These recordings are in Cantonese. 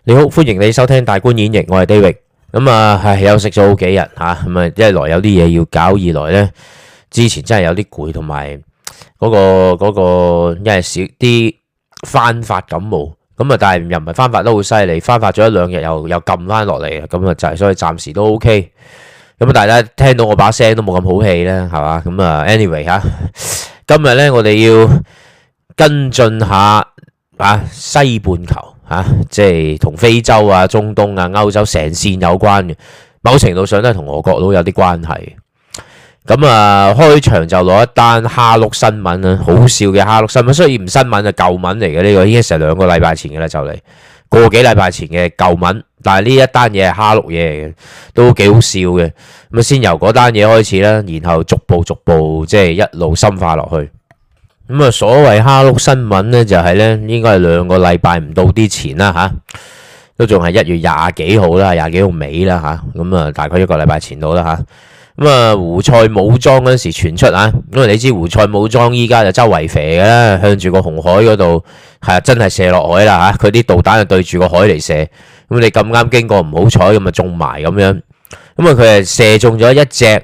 你好，歡迎你收聽大觀演繹，我係 David。咁啊，係休息咗好幾日吓，咁啊，一來有啲嘢要搞，二來呢之前真係有啲攰，同埋嗰個因為少啲翻發感冒，咁啊，但係又唔係翻發得好犀利，翻發咗一兩日又撳翻落嚟，咁啊就係所以暫時都 OK。咁啊，大家聽到我把聲都冇咁好氣啦，係嘛？咁啊，anyway 吓，今日呢我哋要跟進下西半球。即係同非洲啊、中東啊、歐洲成線有關嘅，某程度上都係同俄國都有啲關係。咁啊，開場就攞一單蝦碌新聞啊，好笑嘅蝦碌新聞，雖然唔新聞啊，舊聞嚟嘅呢個，已經成2個禮拜前嘅啦，就嚟個幾禮拜前嘅舊聞。但係呢一單嘢係蝦碌嘢嚟嘅，都幾好笑嘅。咁啊，先由嗰單嘢開始啦，然後逐步即係一路深化落去。咁啊，所謂蝦碌新聞呢，就係呢應該係2個禮拜唔到啲前啦吓，都仲係1月20幾號啦，20幾號尾啦吓，咁啊大概1個禮拜前到啦吓。咁啊，胡塞武裝嗰時傳出啊，因為你知胡塞武裝依家就周圍射嘅啦，向住個紅海嗰度係真係射落海啦吓，佢啲導彈就對住個海嚟射，咁你咁啱經過唔好彩咁啊中埋咁樣，咁啊佢係射中咗一隻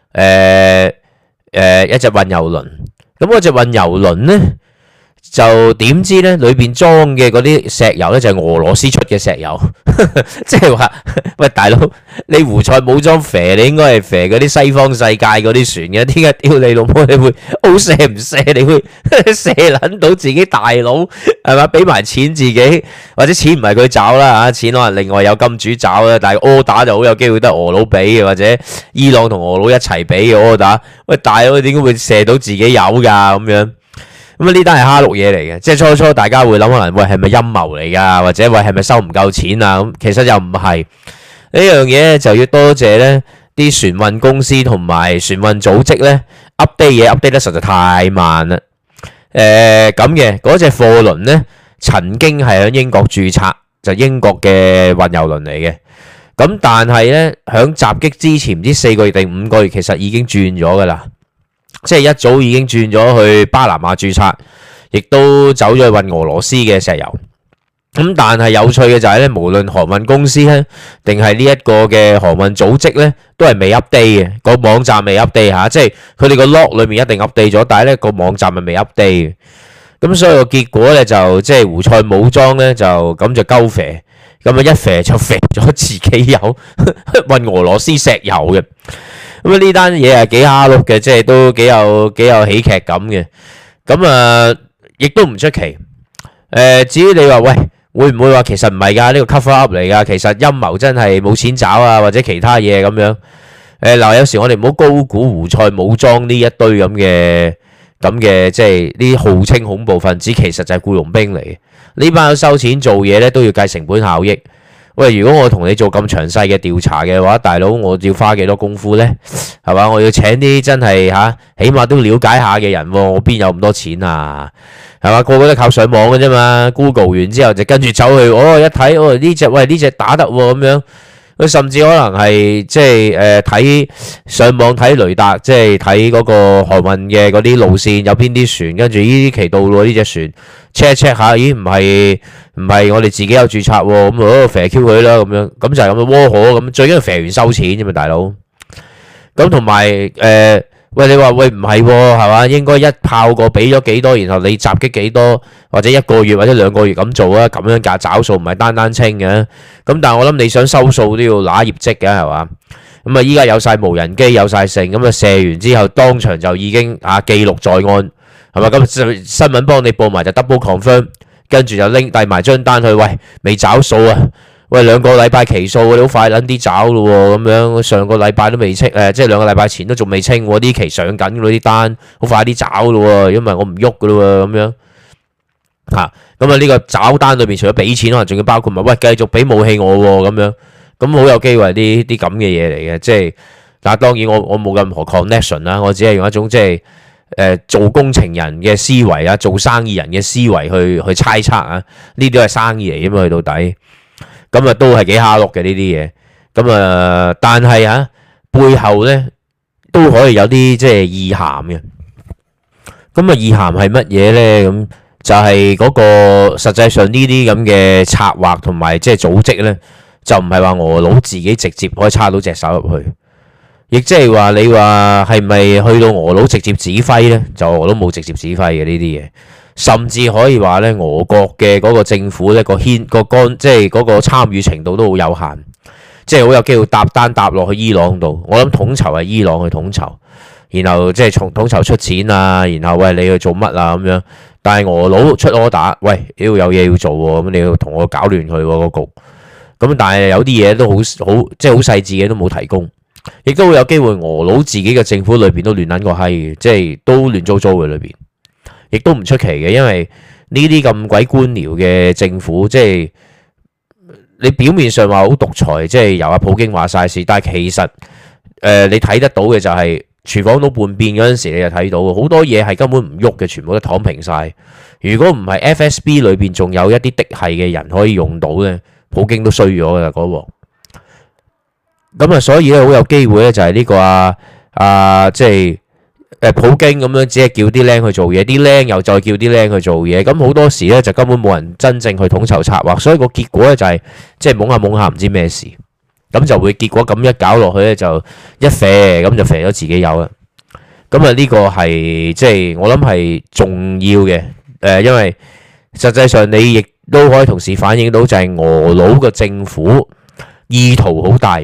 運油輪。咁嗰隻運油輪呢，就點知呢？裏邊裝嘅嗰啲石油呢，就係俄羅斯出嘅石油，即係話喂大佬，你胡塞武裝肥，你應該係肥嗰啲西方世界嗰啲船嘅，點解屌你老母你會好射唔射？你會射撚到自己大佬係嘛？俾埋錢自己，或者錢唔係佢找啦嚇，錢可能另外有金主找啦，但係 order 就好有機會得俄佬俾嘅，或者伊朗同俄佬一齊俾嘅 order。喂大佬，點解會射到自己有㗎咁樣？咁啊呢單係蝦碌嘢嚟嘅，即係初大家會諗可能喂係咪陰謀嚟㗎，或者喂係咪收唔夠錢啊？咁其實又唔係，呢樣嘢就要多謝呢啲船運公司同埋船運組織呢 update 嘢 update 得實在太慢啦。咁嘅嗰隻貨輪呢，曾經係喺英國註冊，就英國嘅運油輪嚟嘅。咁但係呢，響襲擊之前唔知4個月定5個月，其實已經轉咗㗎啦。即係一早已經轉咗去巴拿馬註冊，亦都走咗去運俄羅斯嘅石油。咁但係有趣嘅就係咧，無論航運公司咧，定係呢一個嘅航運組織咧，都係未 update 嘅，個網站未 update 吓，即係佢哋個 log 裏面一定 update 咗，但係咧個網站係未 update 嘅。咁所以個結果咧就即係胡塞武裝咧就咁就鳩肥，咁啊一肥就肥咗自己有運俄羅斯石油嘅。咁啊呢單嘢係幾蝦碌嘅，即係都幾有喜劇感嘅。咁啊，亦都唔出奇。至於你話喂，會唔會話其實唔係㗎？呢個 cover up 嚟㗎，其實陰謀真係冇錢找啊，或者其他嘢咁樣。嗱，有時我哋唔好高估胡塞武裝呢一堆咁嘅，即係呢啲號稱恐怖分子，其實就係僱傭兵嚟嘅。呢班收錢做嘢咧，都要計成本效益。喂，如果我同你做咁詳細嘅調查嘅話，大佬我要花幾多功夫呢？係嘛？我要請啲真係起碼都了解下嘅人喎，我邊有咁多錢啊？係嘛？個個都靠上網嘅啫嘛 ，Google 完之後就跟住走去，一睇，呢隻打得喎咁樣。佢甚至可能係即係睇上網睇雷達，即係睇嗰個航運嘅嗰啲路線有邊啲船，跟住呢期到喎呢隻船 check 一 check 下，咦唔係我哋自己有註冊喎，咁肥 Q 佢啦咁樣，咁就係咁嘅窩火咁，最緊要肥完收錢啫嘛大佬。咁同埋喂你話喂唔係喎係嘛？應該一炮過俾咗幾多，然後你襲擊幾多，或者1個月或者2個月咁做啊？咁樣價找數唔係單清嘅。咁但係我諗你想收數都要拿業績嘅係嘛？咁啊依家有晒無人機有晒成，咁啊射完之後當場就已經記錄在案係嘛？咁新聞幫你報埋就 double confirm， 跟住就拎遞埋張單去，喂未找數啊！喂2個禮拜期數，你好快撚啲找咯喎，咁樣上個禮拜都未清，即係2個禮拜前都仲未清喎，啲期上緊嗰啲單，好快啲找咯喎，因為我唔喐噶咯喎，咁樣咁啊呢個找單裏面除咗俾錢，可能仲要包括埋喂繼續俾武器我喎，咁樣咁好有機會啲咁嘅嘢嚟嘅，即係但係當然我冇任何 connection 啦，我只係用一種即係做工程人嘅思維啊，做生意人嘅思維去猜測啊，呢啲都係生意嚟嘅嘛，去到底。咁啊，都係幾蝦碌嘅呢啲嘢。咁啊，但係背後咧都可以有啲即係意涵嘅。咁啊，意涵係乜嘢咧？咁就係嗰個實際上呢啲咁嘅策劃同埋即係組織呢，就唔係話俄佬自己直接可以插到隻手入去，亦即係話你話係咪去到俄佬直接指揮呢？就俄佬冇直接指揮嘅呢啲嘢，甚至可以話呢，俄國嘅嗰個政府呢，即係嗰個參與程度都好有限，即係好有機會搭單搭落去伊朗度。我諗統籌係伊朗去統籌，然後即係從統籌出錢啊，然後喂你去做乜啊咁樣。但係俄佬出 order，喂，屌有嘢要做喎，咁你要同我搞亂佢喎個局。咁但係有啲嘢都好即係好細緻嘅都冇提供，亦都會有機會俄佬自己嘅政府裏邊都亂撚個閪嘅，即係都亂糟糟嘅裏邊，亦都唔出奇嘅，因為呢啲咁鬼官僚嘅政府，即係你表面上話好獨裁，即係由阿普京話晒事，但係其實你睇得到嘅就係廚房都叛變嗰陣時，你就睇到好多嘢係根本唔喐嘅，全部都躺平晒。如果唔係 FSB 裏邊仲有一啲嫡系嘅人可以用到咧，普京都衰咗㗎啦嗰鑊。咁啊，所以咧好有機會咧就係呢個即係普京咁樣，只係叫啲僆去做嘢，啲僆又再叫啲僆去做嘢。咁好多時咧就根本冇人真正去統籌策劃，所以個結果咧就係即係懵下懵下唔知咩事。咁就會結果咁一搞落去咧，就一啡咁就啡咗自己有啦。咁啊呢個係即係我諗係重要嘅，因為實際上你亦都可以同時反映到就係俄佬嘅政府意圖好大，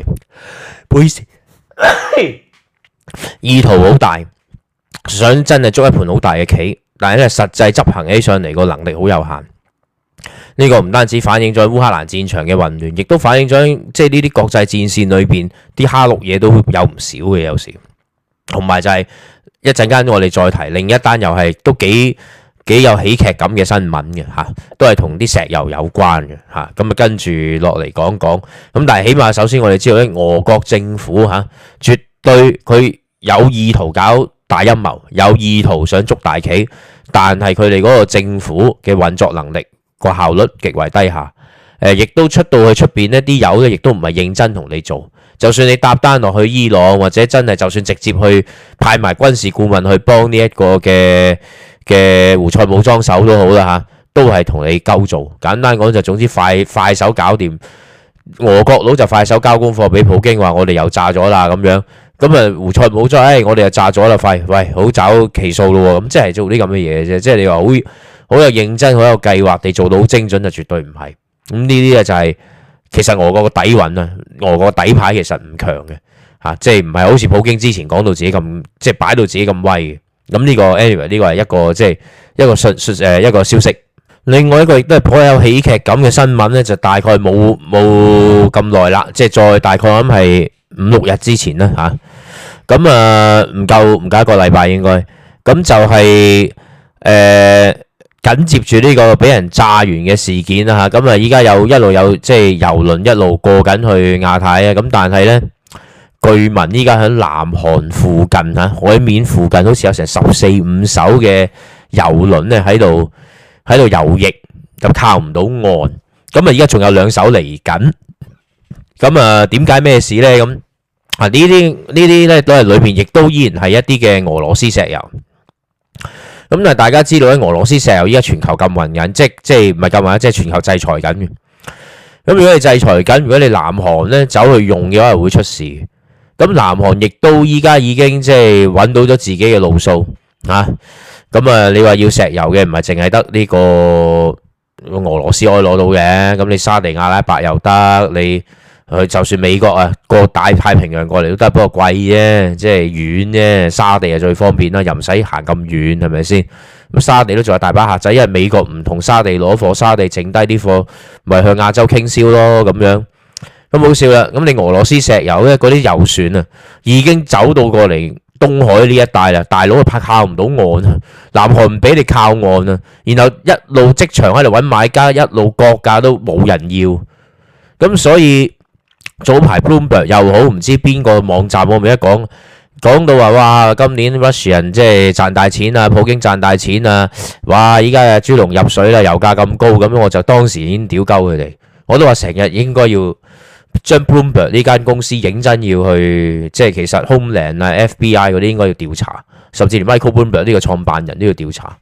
意圖好大，想真係捉一盤好大嘅棋，但係咧實際執行起上嚟個能力好有限。呢個唔單止反映咗烏克蘭戰場嘅混亂，亦都反映咗即係呢啲國際戰線裏邊啲蝦碌嘢都有唔少嘅，有時。同埋就係一陣間我哋再提另一單又係都幾有喜劇感嘅新聞嘅嚇，都係同啲石油有關嘅嚇。咁啊跟住落嚟講講。咁但係起碼首先我哋知道咧，俄國政府嚇絕對佢有意圖搞大陰謀，有意圖想捉大棋，但係佢哋嗰個政府嘅運作能力個效率極為低下，亦都出到去出邊呢啲友咧，亦都唔係認真同你做。就算你搭單落去伊朗，或者真係就算直接去派埋軍事顧問去幫呢一個嘅胡塞武裝手都好啦嚇，都係同你鳩做。簡單講就總之快手搞掂。俄國佬就快手交功課俾普京話我哋又炸咗啦咁樣，咁啊胡塞武裝我哋又炸咗啦，喂好找期數咯喎，咁即係做啲咁嘅嘢啫，即係你話好有認真、好有計劃地做到好精準就絕對唔係。咁呢啲就係其實俄國個底蘊啊，俄國個底牌其實唔強嘅嚇，即係唔係好似普京之前講到自己咁，即係擺到自己咁威嘅。咁呢個 anyway 呢個係一個即係一個消息。另外一個亦都係頗有喜劇感嘅新聞咧，就大概冇咁耐啦，即係再大概我諗係5-6日之前啦嚇。咁唔夠一個禮拜應該。咁就係緊接住呢個俾人炸完嘅事件啦嚇。咁啊依家一路有即係郵輪一路過緊去亞太啊。咁但係咧，據聞依家喺南韓附近嚇海面附近，好似有成14-15艘嘅郵輪咧喺度游弋，就靠唔到岸。咁啊，依家仲有2艘嚟緊。咁啊，點解咩事咧？咁啊，呢啲咧都係裏邊，亦都依然係一啲嘅俄羅斯石油。咁但係大家知道咧，俄羅斯石油依家全球禁運緊，即係唔係禁運，即係全球制裁緊嘅。咁如果你制裁緊，如果你南韓咧走去用嘅話，係會出事。咁南韓亦都依家已經即係揾到咗自己嘅路數啊。咁啊，你話要石油嘅唔係淨係得呢個俄羅斯可以攞到嘅，咁你沙地阿拉伯又得，你就算美國啊過大太平洋過嚟都得，不過貴啫，即係遠啫。沙地係最方便啦，又唔使行咁遠，係咪先？咁沙地都仲有大把客仔，因為美國唔同沙地攞貨，沙地剩低啲貨咪向亞洲傾銷咯，咁樣。咁好笑啦，咁你俄羅斯石油咧，嗰啲油船啊已經走到過嚟東海呢一帶啦，大佬佢靠唔到岸啊，南韓唔俾你靠岸啊，然後一路即場喺度揾買家，一路割價都冇人要，咁所以早排 Bloomberg 又好，唔知邊個網站我咪一講到話哇，今年 Russian 即係賺大錢啊，普京賺大錢啊，哇依家啊豬籠入水啦，油價咁高，咁我就當時已經屌鳩佢哋，我都話成日應該要將 Bloomberg 呢間公司認真要去，即係其實 Homeland 啊、FBI 嗰啲應該要調查，甚至連 Michael Bloomberg 呢個創辦人都要調查。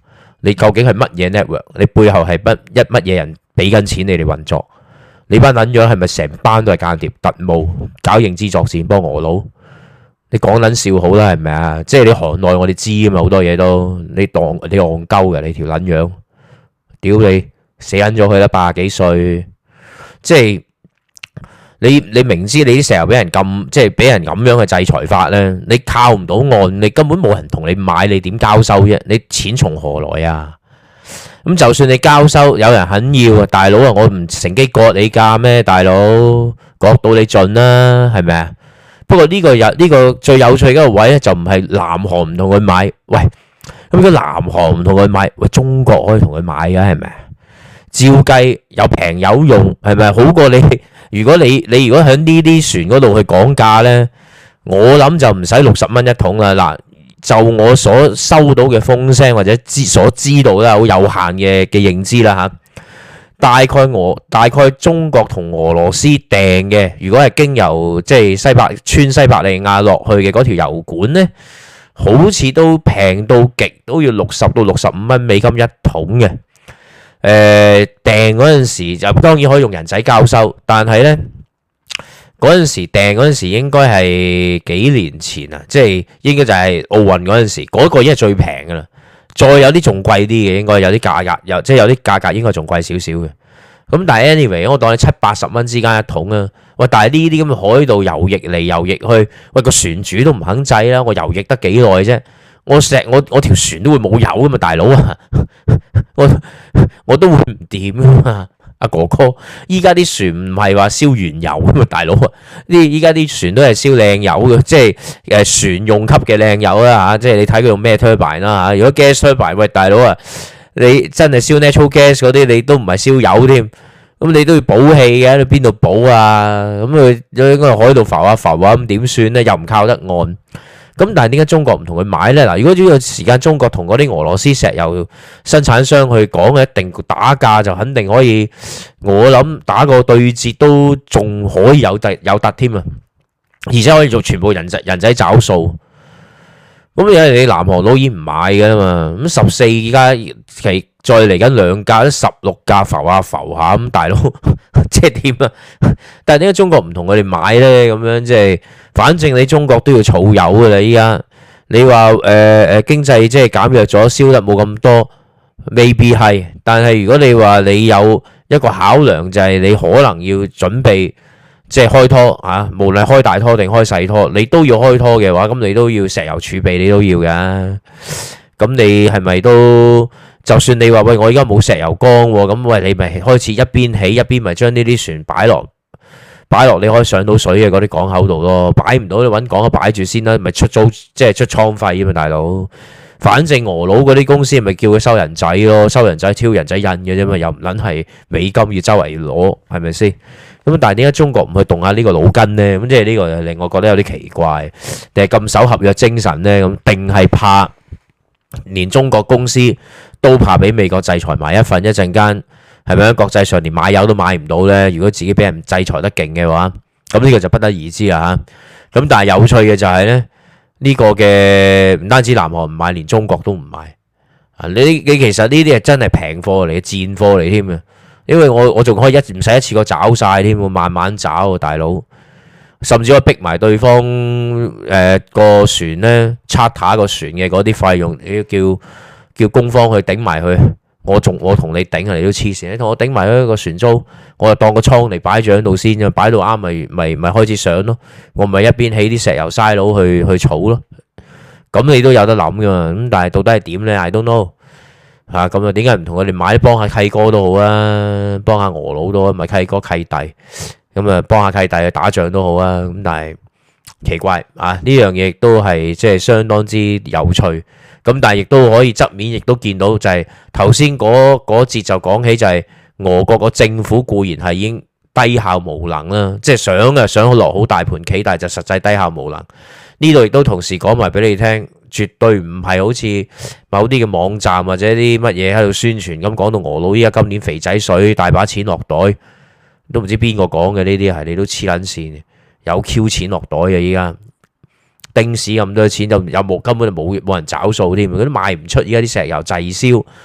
你究竟係乜嘢 network？ 你背後係乜嘢人俾緊錢你哋運作？你班撚樣係咪成班都係間諜特務搞認知作戰幫俄佬？你講撚笑好啦，係咪啊？即係你行內我哋知啊嘛，好多嘢都你戇鳩嘅，你條撚樣，屌你死撚咗佢啦，80幾歲，即係你明知你啲石油俾人禁，即係俾人咁樣嘅制裁法咧，你靠唔到岸，你根本冇人同你買，你點交收啫？你錢從何來啊？咁就算你交收，有人肯要啊，大佬啊，我唔乘機割你價咩？大佬割到你盡啦，係咪啊？不過呢個最有趣嘅一個位咧，就唔係南韓唔同佢買，喂，咁如果南韓唔同佢買，喂，中國可以同佢買嘅係咪啊？照計有平有用，係咪好過你？如果你如果喺呢啲船嗰度去講價咧，我諗就唔使60蚊一桶啦。嗱，就我所收到嘅風聲或者所知道啦，好有限嘅認知啦嚇。大概中國同俄羅斯訂嘅，如果係經由即係穿西伯利亞落去嘅嗰條油管咧，好似都平到極，都要60到65蚊美金一桶嘅。訂嗰陣時就當然可以用人仔交收，但係呢嗰陣時訂嗰陣時應該係幾年前啊，即係應該就係奧運嗰陣時，嗰個已經係最平噶啦。再有啲仲貴啲嘅，應該有啲價格，即係有啲價格應該仲貴少少嘅。咁但係 anyway，我當你70-80蚊之間一桶啊。喂，但係呢啲咁嘅海盜游弋嚟游弋去，喂個船主都唔肯制啦。我游弋得幾耐啫？我條船都會冇油噶嘛，大佬啊！我都會唔掂噶嘛，阿哥哥。依家啲船唔係話燒原油噶嘛，大佬啊！依家啲船都係燒靚油嘅，即係船用級嘅靚油啦嚇。即係你睇佢用咩 turbine 啦嚇。如果 gas turbine，喂大佬啊，你真係燒 natural gas 嗰啲，你都唔係燒油添。咁你都要補氣嘅，你邊度補啊？咁佢應該海度浮下浮啊，咁點算咧？又唔靠得岸。咁但係點解中國唔同佢買呢？嗱，如果呢個時間中國同嗰啲俄羅斯石油生產商去講嘅，一定打價就肯定可以，我諗打個對折都仲可以有突添啊！而且可以做全部人仔找數。咁因為你南韓佬已經唔買㗎啦嘛，咁14而家再嚟緊2價，都16價浮下浮下咁，大佬即係點啊？但係點解中國唔同佢哋買呢？咁樣即係，反正你中國都要儲油㗎啦。依家你話經濟即係減弱咗，燒得冇咁多，未必係。但係如果你話你有一個考量，就係你可能要準備即係開拖嚇，無論開大拖定開細拖，你都要開拖嘅話，咁你都要石油儲備，你都要㗎。咁你係咪都？就算你話喂，我而家冇石油缸喎，咁喂你咪開始一邊起一邊咪將呢啲船擺落你可以上到水嘅嗰啲港口度咯，擺唔到你揾港口擺住先啦，咪出租即係出倉費啊嘛，大佬。反正俄佬嗰啲公司咪叫佢收人仔咯，收人仔挑人仔印嘅啫嘛，又唔撚係美金要周圍攞，係咪先？咁但係點解中國唔去動下呢個腦筋呢？咁即係呢個令我覺得有啲奇怪，定係咁守合約精神呢？咁定係怕連中國公司都怕俾美國制裁埋一份，一陣間係咪喺國際上連買油都買唔到呢？如果自己俾人制裁得勁嘅話，咁呢個就不得而知啦嚇。咁但係有趣嘅就係呢，呢個嘅唔單止南韓唔買，連中國都唔買啊！你其實呢啲係真係平貨嚟嘅，賤貨嚟添啊！因為我仲可以唔使一次過找晒添，慢慢找大佬，甚至可以逼埋對方個船呢，charter個船嘅嗰啲費用，叫公方去頂埋佢。我同你頂啊，你都黐線！你同我頂埋一個船租，我就當個倉嚟擺住喺度先，擺到啱咪開始上咯。我咪一邊起啲石油嘥佬去儲咯。咁你都有得諗噶嘛？咁但係到底係點呢？I don't know。嚇咁啊？點解唔同佢哋買？幫下契哥都好啊，幫下俄佬都好，咪契哥契弟咁啊，幫下契弟去打仗都好啊。咁但係奇怪啊，呢樣嘢亦都係即係相當之有趣。咁但係亦都可以側面亦都見到就係頭先嗰節就講起就係俄國個政府固然係已經低效無能啦，即係想落好大盤棋，但係就實際低效無能。呢度亦都同時講埋俾你聽，絕對唔係好似某啲嘅網站或者啲乜嘢喺度宣傳咁講到俄佬依家今年肥仔水大把錢落袋，都唔知邊個講嘅呢啲係，你都黐撚線，有 Q 錢落袋嘅依家。丁屎咁多錢就有冇根本就冇人找數添，佢都賣唔出。而家啲石油滯銷，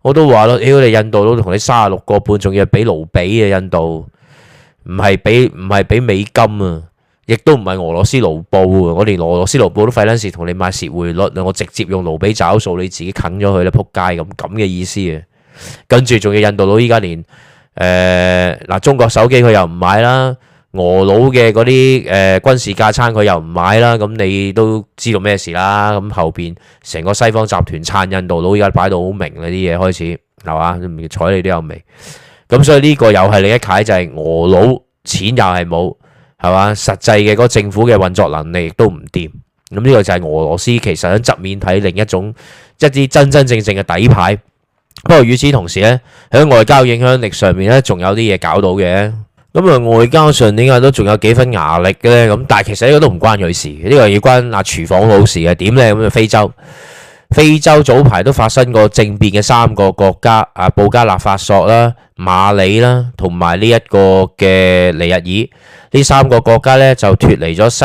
我都話咯，屌你印度佬同你36個半，仲要係俾盧比啊！印度唔係俾美金啊，亦都唔係俄羅斯盧布啊！我連俄羅斯盧布都費撚事同你買蝕匯率，我直接用盧比找數，你自己啃咗佢啦，撲街咁嘅意思啊！跟住仲要印度佬依家連中國手機佢又唔買啦，俄佬嘅嗰啲軍事架撐佢又唔買啦，咁你都知道咩事啦？咁後邊成個西方集團撐印度佬，而家擺到好明啦，啲嘢開始係嘛？唔睬你都有味。咁所以呢個又係另一楷，就係俄佬錢又係冇，係嘛？實際嘅嗰個政府嘅運作能力亦都唔掂。咁呢個就係俄羅斯其實喺側面睇另一種一啲真真正正嘅底牌。不過與此同時咧，喺外交影響力上面咧，仲有啲嘢搞到嘅。咁啊，外交上點解都仲有幾分牙力嘅咧？咁但係其實呢個都唔關佢事，呢個要關阿廚房佬事嘅。點咧？咁啊，非洲早排都發生過政變嘅3個國家啊，布加納法索啦、馬里啦，同埋呢一個嘅尼日爾。呢3個國家咧就脫離咗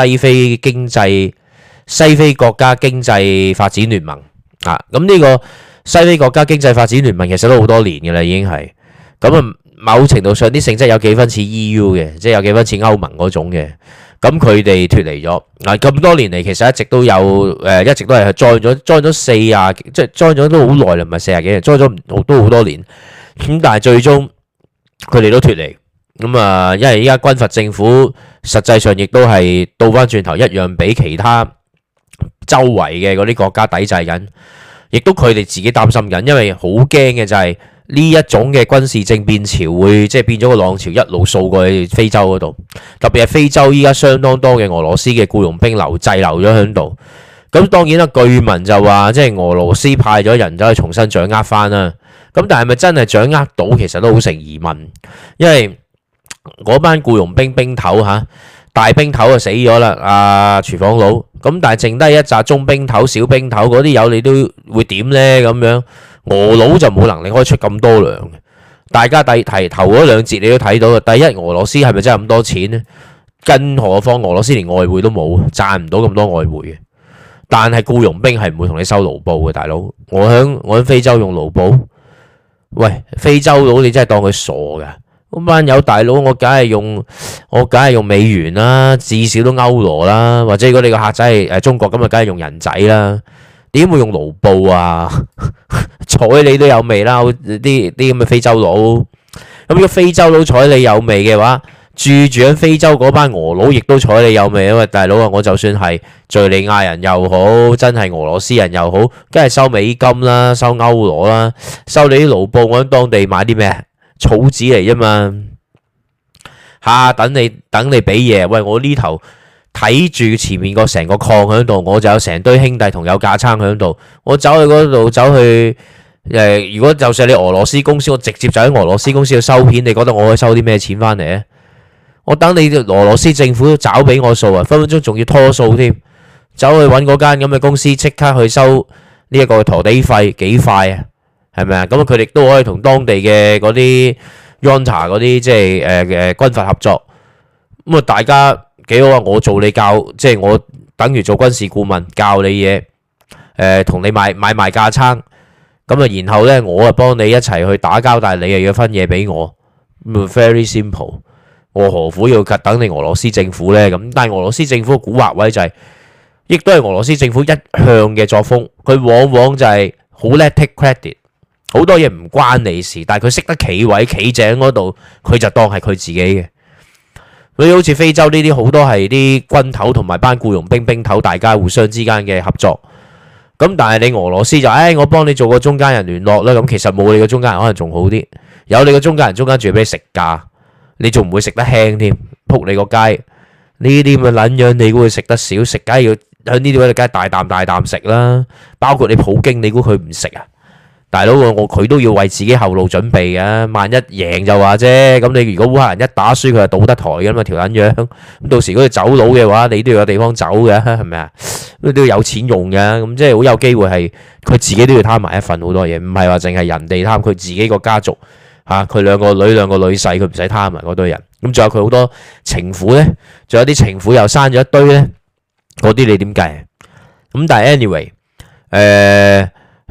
西非國家經濟發展聯盟啊。咁呢個西非國家經濟發展聯盟其實都好多年嘅啦，已經係咁啊。某程度上啲性質有幾分似 EU 嘅，即係有幾分似歐盟嗰種嘅。咁佢哋脫離咗嗱，咁多年嚟其實一直都有一直都係 join 咗40，即係 join 咗都好耐啦，唔係40幾年 join 咗都好多年。咁但係最終佢哋都脫離咁啊，因為依家軍閥政府實際上亦都係倒翻轉頭一樣俾其他周圍嘅嗰啲國家抵制緊，亦都佢哋自己擔心緊，因為好驚嘅就係呢一種嘅軍事政變潮會即係變咗個浪潮，一路掃過去非洲嗰度。特別係非洲依家相當多嘅俄羅斯嘅僱傭兵滯留咗喺度。咁當然啦，據聞就話即係俄羅斯派咗人走去重新掌握翻啦。咁但係咪真係掌握到，其實都好成疑問，因為嗰班僱傭兵兵頭嚇大兵頭就死咗啦，阿廚房佬。咁但係剩低一紮中兵頭、小兵頭嗰啲友，你都會點呢？咁樣俄佬就冇能力可以出咁多糧。大家提頭嗰兩節你都睇到啦。第一，俄羅斯係咪真係咁多錢呢？更何況俄羅斯連外匯都冇，賺唔到咁多外匯嘅。但係僱傭兵係唔會同你收盧布嘅，大佬。我喺非洲用盧布，喂，非洲佬你真係當佢傻㗎？咁班友大佬，我梗係用美元啦，至少都歐羅啦，或者如果你個客仔係中國咁啊，梗係用人仔啦。點會用盧布啊？睬你都有味啦，啲咁嘅非洲佬。咁如果非洲佬睬你有味嘅話，住喺非洲嗰班俄佬亦都睬你有味。因為大佬啊，我就算係敘利亞人又好，真係俄羅斯人又好，梗係收美金啦，收歐羅啦，收你啲盧布。我喺當地買啲咩？草紙嚟啫嘛，等你俾嘢。喂，我呢頭睇住前面個成個礦喺度，我就有成堆兄弟同有架撐喺度。我走去嗰度，如果就算你俄羅斯公司，我直接就喺俄羅斯公司去收片，你覺得我可以收啲咩錢翻嚟咧？我等你俄羅斯政府找俾我數啊，分分鐘仲要拖數添。走去揾嗰間咁嘅公司，即刻去收呢一個陀地費，幾快啊？係咪啊？咁佢哋都可以同當地嘅嗰啲 Junta 嗰啲即係軍閥合作。咁啊，大家幾好啊！我做你教，即係我等於做軍事顧問教你嘢，同你買賣架撐。咁啊，然後咧我啊幫你一齊去打交，但係你又要分嘢俾我。咁 very simple。我何苦要等你俄羅斯政府咧？咁但係俄羅斯政府嘅蠱惑位就係，亦都係俄羅斯政府一向嘅作風。佢往往就係好叻 take credit。好多嘢唔關你事，但係佢識得企位企正嗰度，佢就當係佢自己嘅。所以好似非洲呢啲好多係啲軍頭同埋班僱傭兵頭，大家互相之間嘅合作。咁但係你俄羅斯就我幫你做個中間人聯絡啦。咁其實冇你個中間人可能仲好啲，有你個中間人中間仲要俾你食價，你仲唔會食得輕添？仆你個街呢啲咁嘅撚樣，你估會食得少？食梗係要喺呢啲位，梗係大啖大啖食啦。包括你普京，你估佢唔食啊？大佬，佢都要為自己後路準備嘅，萬一贏就話啫。咁你如果烏克蘭一打輸，佢就倒得台嘅嘛，條撚樣。咁到時如果佢走佬嘅話，你都要有地方走嘅，係咪啊？都要有錢用嘅，咁即係好有機會係佢自己都要貪埋一份好多嘢，唔係話淨係人哋貪，佢自己個家族嚇，佢兩個女婿，佢唔使貪埋嗰堆人。咁仲有佢好多情婦咧，仲有啲情婦又生咗一堆咧，嗰啲你點計？咁但係 anyway，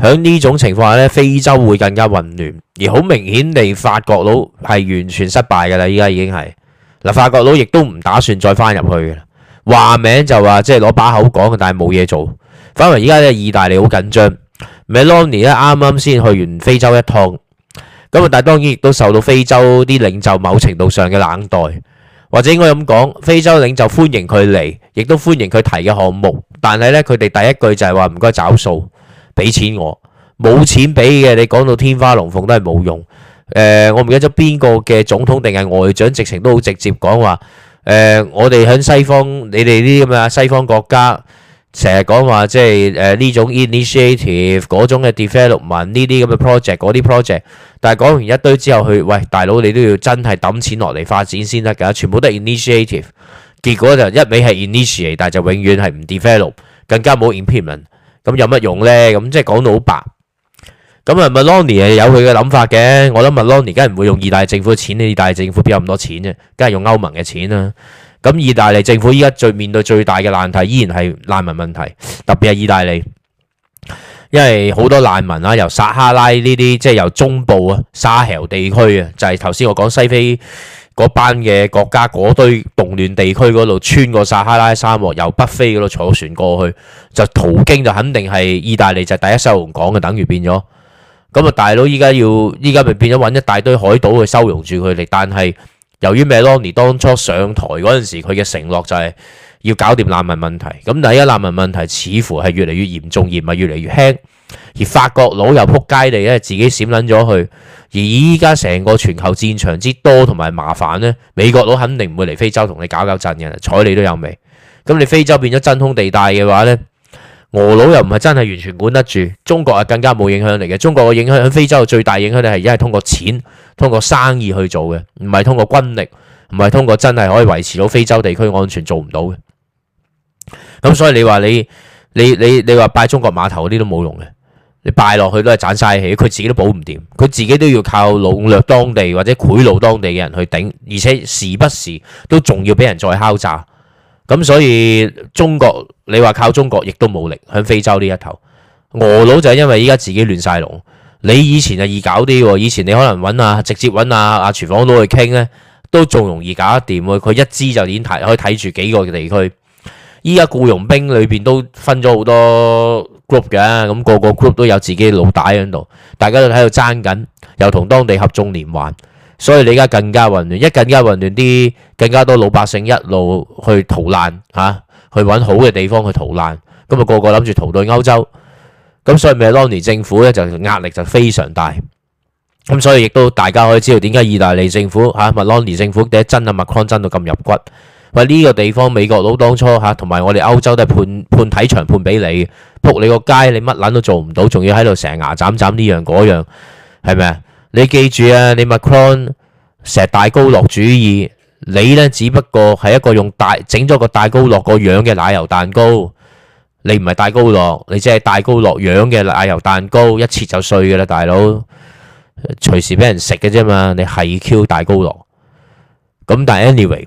喺呢種情況下咧，非洲會更加混亂，而好明顯地法國佬係完全失敗㗎啦，依家已經係嗱，法國佬亦都唔打算再翻入去嘅，話名就話即係攞把口講，但係冇嘢做。反為依家咧，意大利好緊張，Meloni 咧啱啱先去完非洲一趟，咁啊，但係當然亦都受到非洲啲領袖某程度上嘅冷待，或者應該咁講，非洲領袖歡迎佢嚟，亦都歡迎佢提嘅項目，但係咧佢哋第一句就係話唔該找數。俾錢我，冇錢俾嘅，你講到天花龍鳳都係冇用。我唔記得咗邊個嘅總統定係外長，直情都好直接講話。我哋喺西方，你哋啲咁嘅西方國家，成日講話即係呢種 initiative 嗰種嘅 development 呢啲咁嘅 project 嗰啲 project，但係講完一堆之後，喂大佬你都要真係抌錢落嚟發展先得㗎，全部都係 initiative， 結果就一味係 initiate， 但係就永遠係唔 develop， 更加冇 implement。咁有乜用呢？咁即係講到好白。咁啊，Meloni 係有佢嘅諗法嘅。我諗 Meloni 梗係唔會用意大利政府嘅錢，意大利政府邊有咁多錢啫？梗係用歐盟嘅錢啦。咁意大利政府依家面對最大嘅難題依然係難民問題，特別係意大利，因為好多難民啊，由撒哈拉呢啲即係由中部啊沙赫地區啊，就係頭先我講西非嗰班嘅國家嗰堆動亂地區嗰度，穿過撒哈拉沙漠，由北非嗰度坐船過去，就途經就肯定係意大利就第一收容港嘅，等於變咗。咁啊，大佬依家咪變咗揾一大堆海島去收容住佢哋，但係由於 Meloni 當初上台嗰陣時，佢嘅承諾就係要搞掂難民問題。咁但係依家難民問題似乎係越嚟越嚴重，而唔係越嚟越輕。而法國佬又撲街地咧，自己閃撚咗去。而依家成個全球戰場之多同埋麻煩呢，美國佬肯定唔會嚟非洲同你搞震嘅，睬你都有味。咁你非洲變咗真空地帶嘅話呢，俄佬又唔係真係完全管得住，中國係更加冇影響力嘅。中國嘅影響喺非洲最大影響力係而家係通過錢、通過生意去做嘅，唔係通過軍力，唔係通過真係可以維持到非洲地區安全做唔到嘅。咁所以你話你話拜中國碼頭嗰啲都冇用嘅。你拜落去都係盞嘥氣，佢自己都保唔掂，佢自己都要靠籠絡當地或者賄賂當地嘅人去頂，而且時不時都仲要俾人再敲詐。咁所以中國你話靠中國亦都冇力喺非洲呢一頭。俄佬就係因為依家自己亂晒龍，你以前就易搞啲喎，以前你可能直接揾阿廚房佬去傾呢，都仲容易搞得掂喎。佢一支就已經可以睇住幾個地區。依家僱傭兵裏邊都分咗好多 group 嘅，咁個 group 都有自己老大喺度，大家都喺度爭緊，又同當地合縱連環，所以你而家更加混亂，更加混亂啲，更加多老百姓一路去逃難嚇，去揾好嘅地方去逃難，咁啊個個諗住逃到歐洲，咁所以Meloni政府咧就壓力就非常大，咁所以亦都大家可以知道點解意大利政府Meloni政府第一真Macron真到咁入骨。喂，呢個地方美國佬當初同埋我哋歐洲都係判體場判俾你，仆你個街，你乜撚都做唔到，仲要喺度成牙斬斬呢樣嗰樣，係咪啊？你記住啊，你 Macron 成日戴高樂主義，你呢只不過係一個用整咗個戴高樂個樣嘅奶油蛋糕，你唔係戴高樂，你只係戴高樂樣嘅奶油蛋糕，一切就碎㗎啦，大佬，隨時俾人食嘅啫嘛，你係 Q 戴高樂，咁但係 anyway。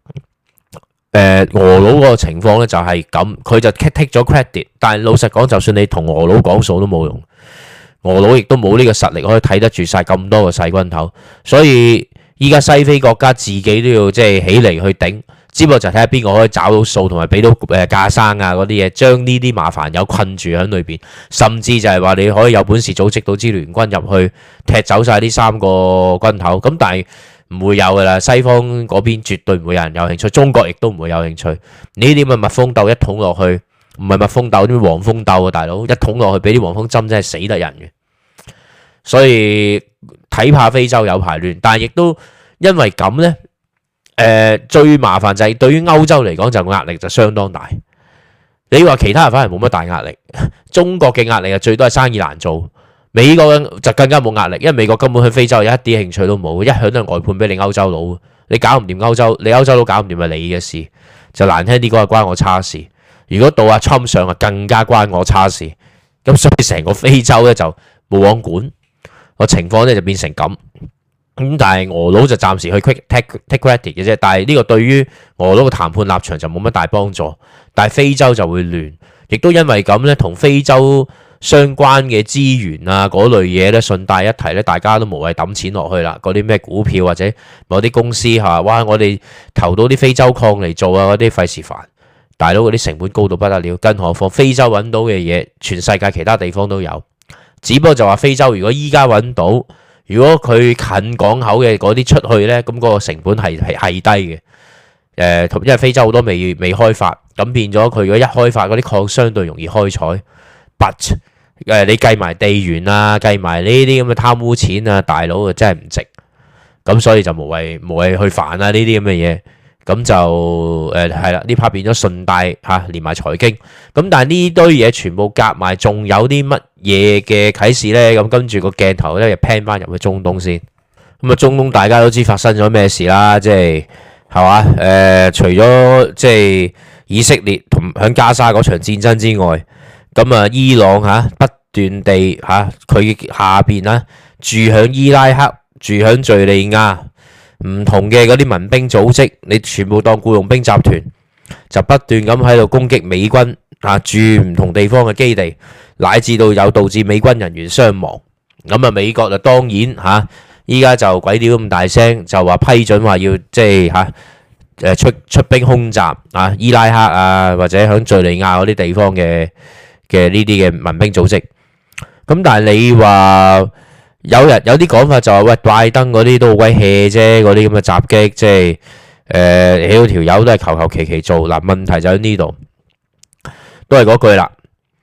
俄佬嗰個情況咧就係咁，佢就 take 咗 credit，但係老實講，就算你同俄佬講數都冇用，俄佬亦都冇呢個實力可以睇得住晒咁多個細軍頭，所以依家西非國家自己都要即係起嚟去頂，只不過就睇下邊個可以找到數同埋俾到架生啊嗰啲嘢，將呢啲麻煩友困住喺裏邊，甚至就係話你可以有本事組織到支聯軍入去踢走晒呢三個軍頭，咁但係唔會有噶啦，西方嗰邊絕對唔會有人有興趣，中國亦都唔會有興趣。呢啲咁嘅蜜蜂鬥一捅落去，唔係蜜蜂鬥，啲黃蜂鬥啊，大佬一捅落去俾啲黃蜂針真係死得人嘅。所以睇怕非洲有排亂，但係亦都因為咁呢，最麻煩就係對於歐洲嚟講就壓力就相當大。你話其他人反而冇乜大壓力，中國嘅壓力啊最多係生意難做。美國就更加冇壓力，因為美國根本去非洲有一啲興趣都冇，一向都係外判俾你歐洲佬。你搞唔掂歐洲，你歐洲佬搞唔掂係你嘅事，就難聽啲講係關我叉事。如果到阿 Trump 上啊，更加關我叉事。咁所以成個非洲咧就冇王管，個情況咧就變成咁。咁但係俄佬就暫時去 take credit 嘅啫。但係呢個對於俄佬嘅談判立場就冇乜大幫助。但係非洲就會亂，亦都因為咁咧，同非洲相關嘅資源啊嗰類嘢咧，順帶一提咧，大家都無謂抌錢落去啦。嗰啲咩股票或者某啲公司嚇，哇！我哋投到啲非洲礦嚟做啊，嗰啲費事煩。大佬嗰啲成本高到不得了，更何況非洲揾到嘅嘢，全世界其他地方都有。只不過就話非洲如果依家揾到，如果佢近港口嘅嗰啲出去呢，咁嗰個成本係低嘅。因為非洲好多未開發，咁變咗佢如果一開發嗰啲礦相對容易開採。But 你計埋地緣啊，計埋呢啲咁嘅貪污錢啊，大佬啊真係唔值。咁所以就無謂去煩啊呢啲咁嘅嘢。咁就係啦，呢 part 變咗順帶連埋財經。咁但係呢堆嘢全部夾埋，仲有啲乜嘢嘅啟示呢？咁跟住個鏡頭咧，就 pan 翻入去中東先。咁啊，中東大家都知發生咗咩事啦，即係嘛？除咗即係以色列同響加沙嗰場戰爭之外，咁啊，伊朗不斷地佢下邊住響伊拉克、住響敘利亞。唔同嘅嗰啲民兵組織，你全部當僱傭兵集團，就不斷咁喺度攻擊美軍駐唔同地方嘅基地，乃至到有導致美軍人員傷亡。咁啊，美國就當然依家就鬼屌咁大聲，就話批准話要即係出兵空襲伊拉克啊，或者響敘利亞嗰啲地方嘅呢啲嘅民兵組織。咁但係你話？有啲講法就話喂，拜登嗰啲都好鬼 hea 啫，嗰啲咁嘅襲擊，即係起條友都係求其做。嗱，問題就喺呢度，都係嗰句啦。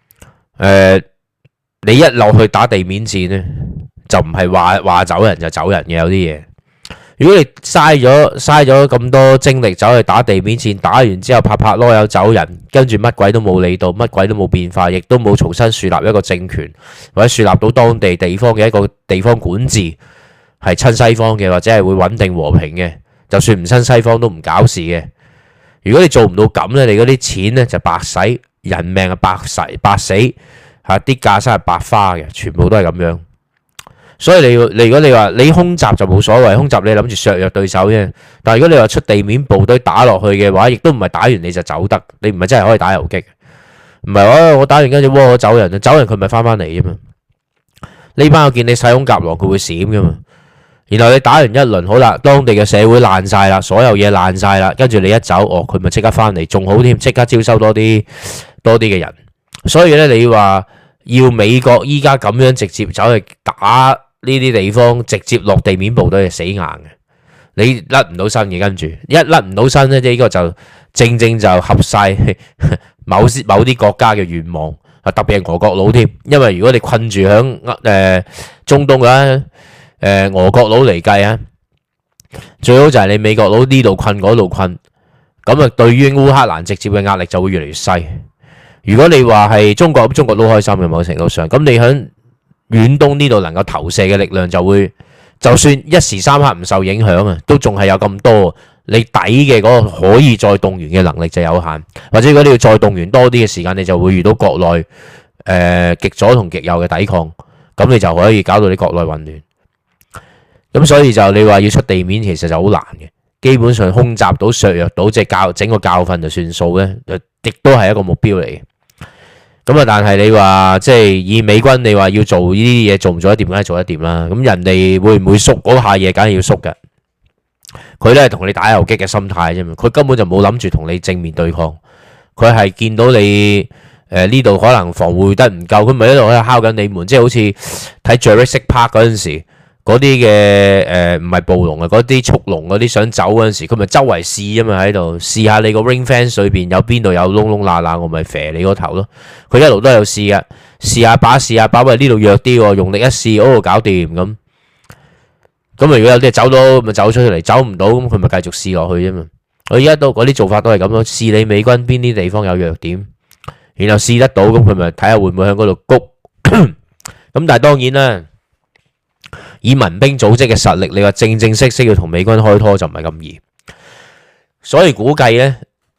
你一落去打地面戰呢，就唔係話走人就走人嘅，有啲嘢。如果你嘥咗咁多精力走去打地面戰，打完之後拍籮柚走人，跟住乜鬼都冇理到，乜鬼都冇變化，亦都冇重新樹立一個政權，或者樹立到當地地方嘅一個地方管治係親西方嘅，或者係會穩定和平嘅，就算唔親西方都唔搞事嘅。如果你做唔到咁呢，你嗰啲錢呢就白使，人命啊白死，啲架生係白花嘅，全部都係咁樣。所以你如果你話你空襲就冇所謂，空襲你諗住削弱對手啫。但係如果你話出地面部隊打落去嘅話，亦都唔係打完你就走得，你唔係真係可以打游擊，唔係話我打完跟住我走人，走人佢咪翻嚟啫嘛。呢班我見你使空夾狼佢會閃噶嘛。然後你打完一輪好啦，當地嘅社會爛晒啦，所有嘢爛晒啦，跟住你一走，佢咪即刻翻嚟，仲好添，即刻招收多啲嘅人。所以咧，你話要美國依家咁樣直接走去打呢啲地方，直接落地面部隊係死硬嘅，你甩唔到身嘅。跟住一甩唔到身咧，即係呢個就正就合晒某啲國家嘅願望，特別係俄國佬添。因為如果你困住響中東嘅俄國佬嚟計啊，最好就係你美國佬呢度困嗰度困，咁啊對於烏克蘭直接嘅壓力就會越嚟越細。如果你話係中國，咁中國都開心嘅，某程度上，咁你響遠東呢度能夠投射嘅力量就會，就算一時三刻唔受影響啊，都仲係有咁多，你抵嘅嗰個可以再動員嘅能力就有限，或者如果你要再動員多啲嘅時間，你就會遇到國內極左同極右嘅抵抗，咁你就可以搞到你國內混亂。咁所以就你話要出地面，其實就好難嘅，基本上空襲到削弱到，即係整個教訓就算數咧，亦都係一個目標嚟嘅。咁啊！但係你話即係以美軍，你話要做呢啲嘢，做唔做得掂，梗係做得掂啦。咁人哋會唔會縮嗰下嘢，梗係要縮嘅。佢都係同你打游擊嘅心態啫嘛。佢根本就冇諗住同你正面對抗。佢係見到你呢度可能防護得唔夠，佢咪一路喺度敲緊你門，即係好似睇 Jurassic Park 嗰陣時。嗰啲嘅唔係暴龍啊，嗰啲速龍嗰啲想走嗰陣時，佢咪周圍試啊嘛，喺度試下你個 ring fence 裏邊有邊度有窿窿罅罅，我咪射你個頭咯。佢一路都有試噶，試下把，喂呢度弱啲喎，用力一試，搞掂咁。咁如果有啲走到咪走出嚟，走唔到咁佢咪繼續試落去啫嘛。我而家都嗰啲做法都係咁咯，試你美軍邊啲地方有弱點，然後試得到咁佢咪睇下會唔會喺嗰度谷。咁但係當然啦。以民兵組織嘅實力，你話正式要同美軍開拖就唔係咁易，所以估計呢，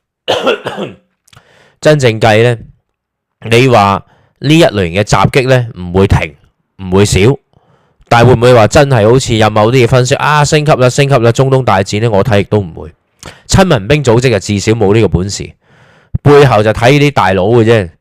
真正計呢，你話呢一類型嘅襲擊呢唔會停，唔會少，但係會唔會話真係好似有某啲嘅分析升級啦，中東大戰呢，我睇亦都唔會。親民兵組織就至少冇呢個本事，背後就睇啲大佬嘅啫。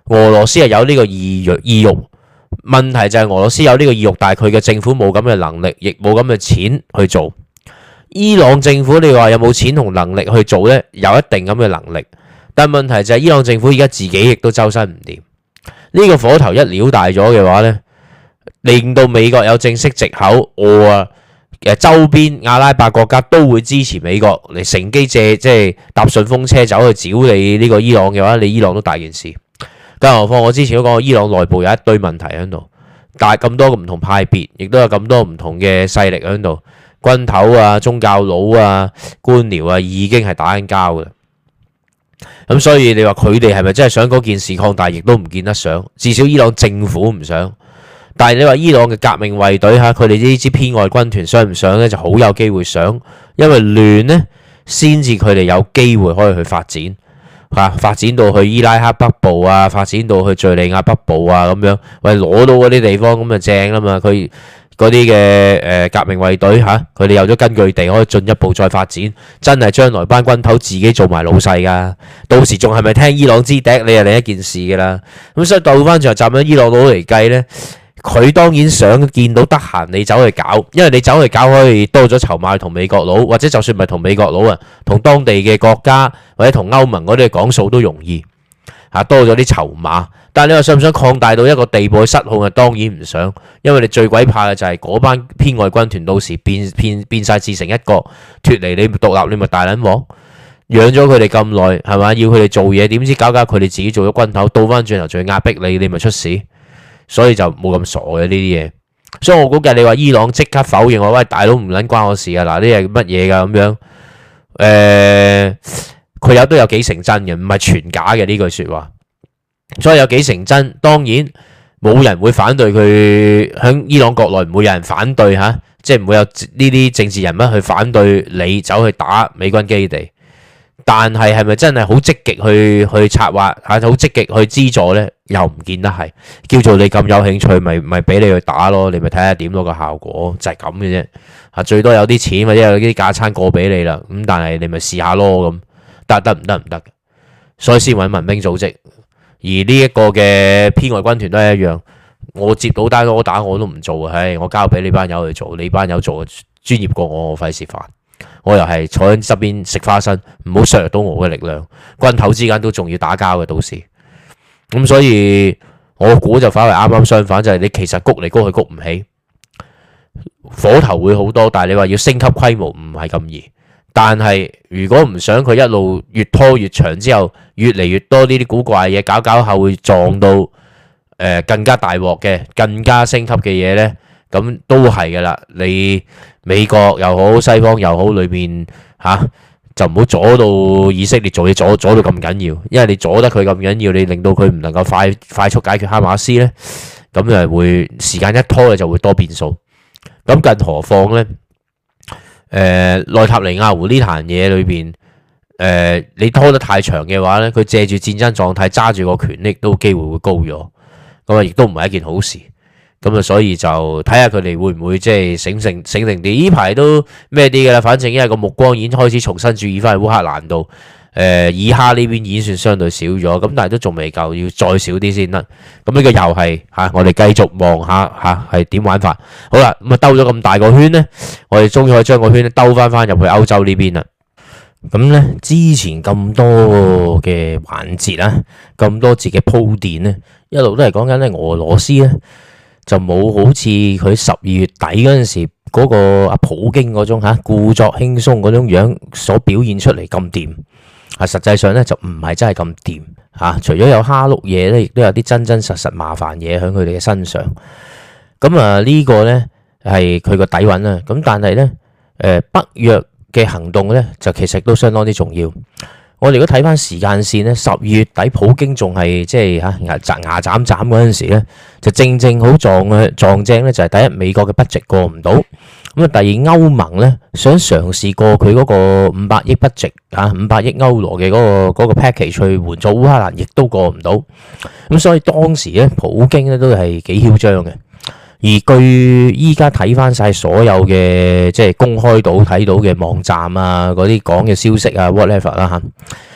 俄羅斯係有呢個意欲，問題就係俄羅斯有呢個意欲，但係佢嘅政府冇咁嘅能力，亦冇咁嘅錢去做。伊朗政府你話有冇錢同能力去做呢？有一定咁嘅能力，但係問題就係伊朗政府而家自己亦都周身唔掂。呢個火頭一撩大咗嘅話呢，令到美國有正式藉口，周邊阿拉伯國家都會支持美國嚟乘機即係搭順風車走去找你呢個伊朗嘅話，你伊朗都大件事。更何況我之前都講過，伊朗內部有一堆問題喺度，但係咁多唔同派別，亦都有咁多唔同嘅勢力喺度，軍頭啊、宗教佬啊、官僚啊，已經係打緊交㗎啦。咁所以你話佢哋係咪真係想嗰件事擴大，亦都唔見得想。至少伊朗政府唔想。但係你話伊朗嘅革命衛隊嚇，佢哋呢支偏愛軍團想唔想呢？就好有機會想，因為亂呢先至佢哋有機會可以去發展嚇，發展到去伊拉克北部啊，發展到去敍利亞北部啊咁樣，喂攞到嗰啲地方咁就正啦嘛。佢嗰啲嘅革命衛隊嚇，佢哋有咗根據地，可以進一步再發展。真係將來班軍頭自己做埋老細噶，到時仲係咪聽伊朗之笛，你係另一件事噶啦。咁所以倒翻轉站喺伊朗佬嚟計呢。佢當然想見到得閒你走去搞，因為你走去搞可以多咗籌碼同美國佬，或者就算唔係同美國佬啊，同當地嘅國家或者同歐盟嗰啲講數都容易嚇，多咗啲籌碼。但係你話想唔想擴大到一個地步去失控啊？當然唔想，因為你最鬼怕嘅就係嗰班偏愛軍團到時變晒自成一國，脫離你獨立，你咪大撚鑊。養咗佢哋咁耐係嘛，要佢哋做嘢，點知搞佢哋自己做咗軍頭，倒翻轉頭仲要壓迫你，你咪出事。所以就冇咁傻嘅呢啲嘢，所以我估計你話伊朗即刻否認我，喂大佬唔撚關我事啊！嗱，呢係乜嘢㗎咁樣？佢都有幾成真嘅，唔係全假嘅呢句説話。所以有幾成真，當然冇人會反對佢，喺伊朗國內唔會有人反對嚇，即係唔會有呢啲政治人物去反對你走去打美軍基地。但係咪真係好積極去策劃嚇，好積極去資助呢？又唔見得係。叫做你咁有興趣，咪俾你去打咯，你咪睇下點咯，個效果就係咁嘅啫。嚇，最多有啲錢或者有啲架撐過俾你啦。咁但係你咪試下咯咁，得唔得？所以先揾民兵組織。而呢一個嘅偏愛軍團都係一樣，我接到單我打我都唔做啊！我交俾你班友去做，你班友做專業過我費事煩。我又係坐喺側邊食花生，唔好削弱到我嘅力量。軍頭之間都仲要打交嘅，到時咁，所以我估就反為啱啱相反，就係你其實谷嚟谷去谷唔起，火頭會好多，但係你話要升級規模唔係咁易。但係如果唔想佢一路越拖越長之後，越嚟越多呢啲古怪嘢搞後會撞到更加大鑊嘅、更加升級嘅嘢呢，咁都係噶啦。你美國又好，西方又好，裏邊就唔好阻到以色列做嘢，阻到咁緊要，因為你阻得佢咁緊要，你令到佢唔能夠快速解決哈馬斯呢，咁就會時間一拖就會多變數。咁更何況呢？內塔尼亞胡呢壇嘢裏邊，你拖得太長嘅話呢，佢借住戰爭狀態揸住個權力，都機會會高咗，咁啊亦都唔係一件好事。咁啊，所以就睇下佢哋會唔會即係醒定啲。呢排都咩啲嘅啦，反正因為個目光已經開始重新注意翻去烏克蘭度。以哈呢邊已經算相對少咗，咁但係都仲未夠，要再少啲先得。咁呢個又係我哋繼續望下係點玩法。好啦，咁啊兜咗咁大個圈呢，我哋終於可以將個圈兜翻入去歐洲呢邊啦。咁呢，之前咁多嘅環節啊，咁多節嘅鋪墊呢，一路都係講緊咧俄羅斯呢。就冇好似佢12月底嗰陣時嗰個阿普京嗰種故作輕鬆嗰種樣所表現出嚟咁掂。實際上咧就唔係真係咁掂。除咗有蝦碌嘢咧，亦都有啲真實麻煩嘢喺佢哋嘅身上。咁呢個咧係佢個底蘊啦。咁但係咧北約嘅行動咧就其實都相當之重要。我哋如果睇翻時間線咧，12月底普京仲係即係牙斬嗰陣時咧，就正好撞正咧，就係第一美國嘅 budget 過唔到，咁啊第二歐盟咧想嘗試過佢嗰個500億 budget 500億歐羅嘅嗰個 package 去援助烏克蘭，亦都過唔到，咁所以當時咧普京咧都係幾囂張嘅。而據依家睇翻晒所有嘅即係公開到睇到嘅網站啊，嗰啲講嘅消息啊 whatever 啦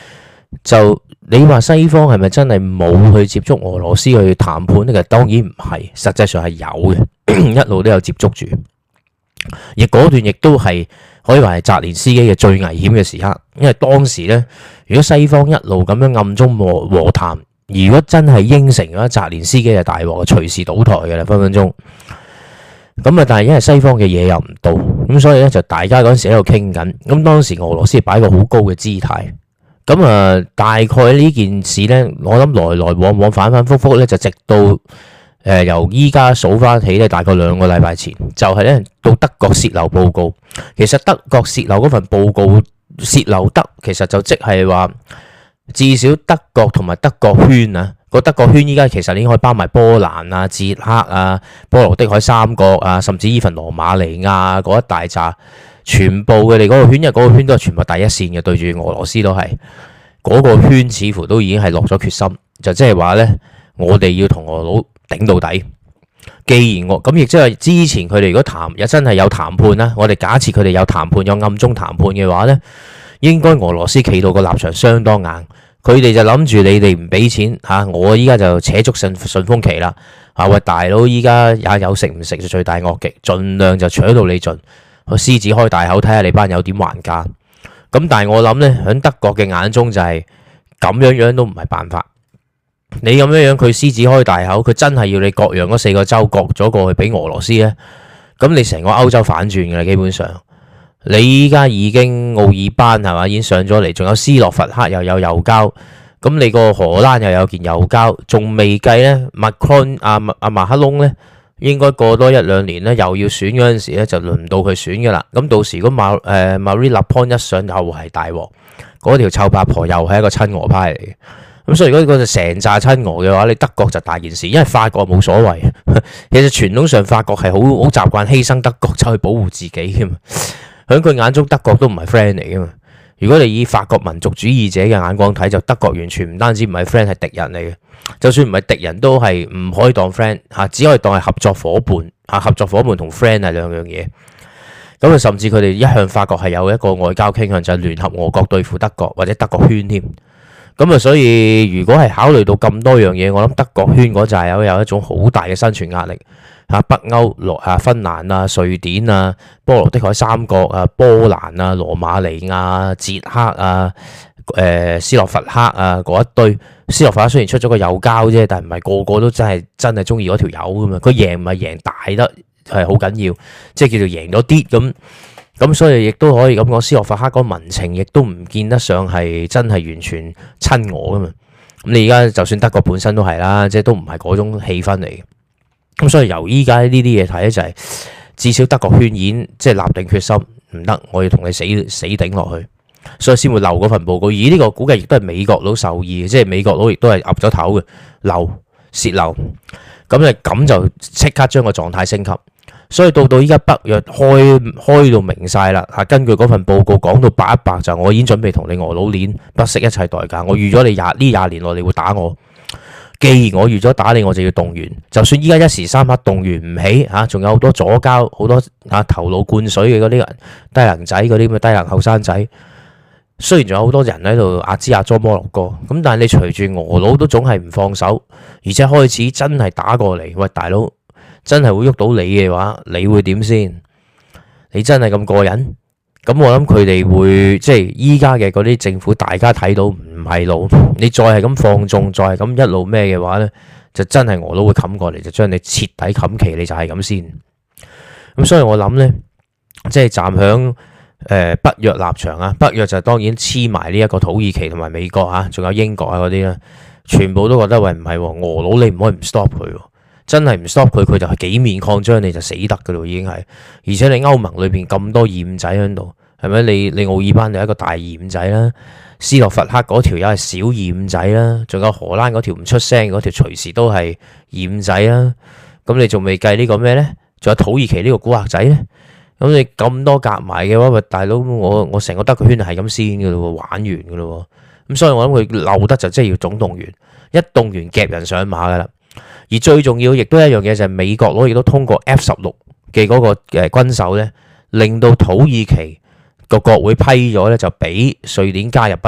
就你話西方係咪真係冇去接觸俄羅斯去談判呢？其實當然唔係，實際上係有嘅，一路都有接觸住。而嗰段亦都係可以話係澤連斯基嘅最危險嘅時刻，因為當時呢，如果西方一路咁樣暗中和談，如果真係應承咗澤連斯基就大鑊，隨時倒台嘅啦，分分鐘。咁啊，但係因為西方嘅嘢又唔到，咁所以咧就大家嗰陣時喺度傾緊。咁當時俄羅斯擺個好高嘅姿態，咁啊大概呢件事呢，我諗來來往往反反覆覆咧，就直到由依家數翻起咧，大概2個禮拜前，就係咧到德國洩漏報告。其實德國洩漏嗰份報告洩漏得，其實就即係話至少德國同埋德國圈啊。個德國圈依家其實已經可以包埋波蘭啊、捷克啊、波羅的海三國啊，甚至依份羅馬尼亞嗰一大紮，全部佢哋嗰個圈，因為嗰個圈都係全部第一線嘅，對住俄羅斯都係嗰個圈，似乎都已經係落咗決心，就即係話呢，我哋要同俄佬頂到底。既然我咁，亦即係之前佢哋如果真係有談判啦，我哋假設佢哋有談判，有暗中談判嘅話呢，應該俄羅斯企到個立場相當硬。佢哋就諗住你哋唔俾錢嚇，我依家就扯足順風期啦嚇！喂，大佬，依家也有食唔食就罪大惡極，盡量就搶到你盡，個獅子開大口睇下你班友點還價。咁但係我諗呢，喺德國嘅眼中就係咁樣都唔係辦法。你咁樣佢獅子開大口，佢真係要你割讓嗰4個州割咗過去俾俄羅斯呢？咁你成個歐洲反轉㗎啦，基本上。你依家已經奧爾班係嘛，已經上咗嚟，仲有斯洛伐克又有右膠，咁你個荷蘭又有件右膠，仲未計呢。Macron 馬克龍呢，應該過多1-2年呢，又要選嗰陣時咧，就輪唔到佢選噶啦。咁到時如果Marine Le Pen一上又係大鑊，嗰條臭八婆又係一個親俄派嚟嘅。咁所以如果嗰個成紮親俄嘅話，你德國就大件事，因為法國冇所謂。其實傳統上法國係好習慣犧牲德國走去保護自己嘅嘛。喺佢眼中，德國都唔係 friend 嚟噶嘛。如果你以法國民族主義者嘅眼光睇，就德國完全唔單止唔係 friend，係敵人嚟嘅。就算唔係敵人都係唔可以當 friend 嚇，只可以當係合作夥伴嚇。合作夥伴同 friend 係兩樣嘢。咁啊，甚至佢哋一向法國係有一個外交傾向，就係聯合俄國對付德國或者德國圈添。咁啊，所以如果係考慮到咁多樣嘢，我諗德國圈嗰陣有一種好大嘅生存壓力。北歐芬蘭啊、瑞典啊、波羅的海三國啊、波蘭啊、羅馬尼亞、捷克啊、斯洛伐克啊嗰一堆。斯洛伐克雖然出咗個右膠啫，但係唔係個個都真係中意嗰條友噶嘛。佢贏唔係贏大得係好緊要，即係叫做贏咗啲咁，所以亦都可以咁講，斯洛伐克嗰民情亦都唔見得上係真係完全親俄噶嘛。咁你而家就算德國本身都係啦，即係都唔係嗰種氣氛嚟嘅。咁所以由依家呢啲嘢睇咧，就係至少德國圈已經即係立定決心，唔得，我要同你死頂落去，所以先會漏嗰份報告。而呢個估計亦都係美國佬受意，即係美國佬亦都係岌咗頭嘅洩漏，咁就即刻將個狀態升級。所以到依家北約開到明晒啦嚇，根據嗰份報告講到白一白，就我已經準備同你俄佬鏈，不惜一切代價，我預咗你20年內你會打我。既然我預咗打你，我就要動員。就算依家一時三刻動員唔起嚇，仲有好多左膠、好多頭腦灌水嘅嗰啲人、低能仔嗰啲咁嘅低能後生仔。雖然仲有好多人喺度壓支壓咗摩洛哥，咁但係你隨住俄佬都總係唔放手，而且開始真係打過嚟。喂，大佬真係會喐到你嘅話，你會點先？你真係咁過癮？咁我諗佢哋會即係依家嘅嗰啲政府，大家睇到唔係路，你再係咁放縱，再係咁一路咩嘅話呢，就真係俄佬會冚過嚟，就將你徹底冚旗，你就係咁先。咁所以我諗呢，即係站響北約立場啊，北約就當然黐埋呢一個土耳其同埋美國啊，仲有英國啊嗰啲啦，全部都覺得喂唔係俄佬，你唔可以唔 stop 佢。真係唔 stop 佢，佢就係幾面擴張，你就死得噶咯，已經係。而且你歐盟裏邊咁多鹽仔喺度，係咪？你奧爾班就一個大鹽仔啦，斯洛伐克嗰條又係小鹽仔啦，仲有荷蘭嗰條唔出聲嗰條隨時都係鹽仔啦。咁你仲未計呢個咩呢？仲有土耳其呢個古惑仔呢？咁你咁多夾埋嘅話，喂大佬，我成個德國圈係咁先噶咯，玩完噶咯。咁所以我諗佢漏得就即係要總動員，一動員夾人上馬噶啦。而最重要亦都一樣嘢就係美國佬亦都通過 F-16嘅嗰個軍售咧，令到土耳其個國會批咗咧，就俾瑞典加入北約。咁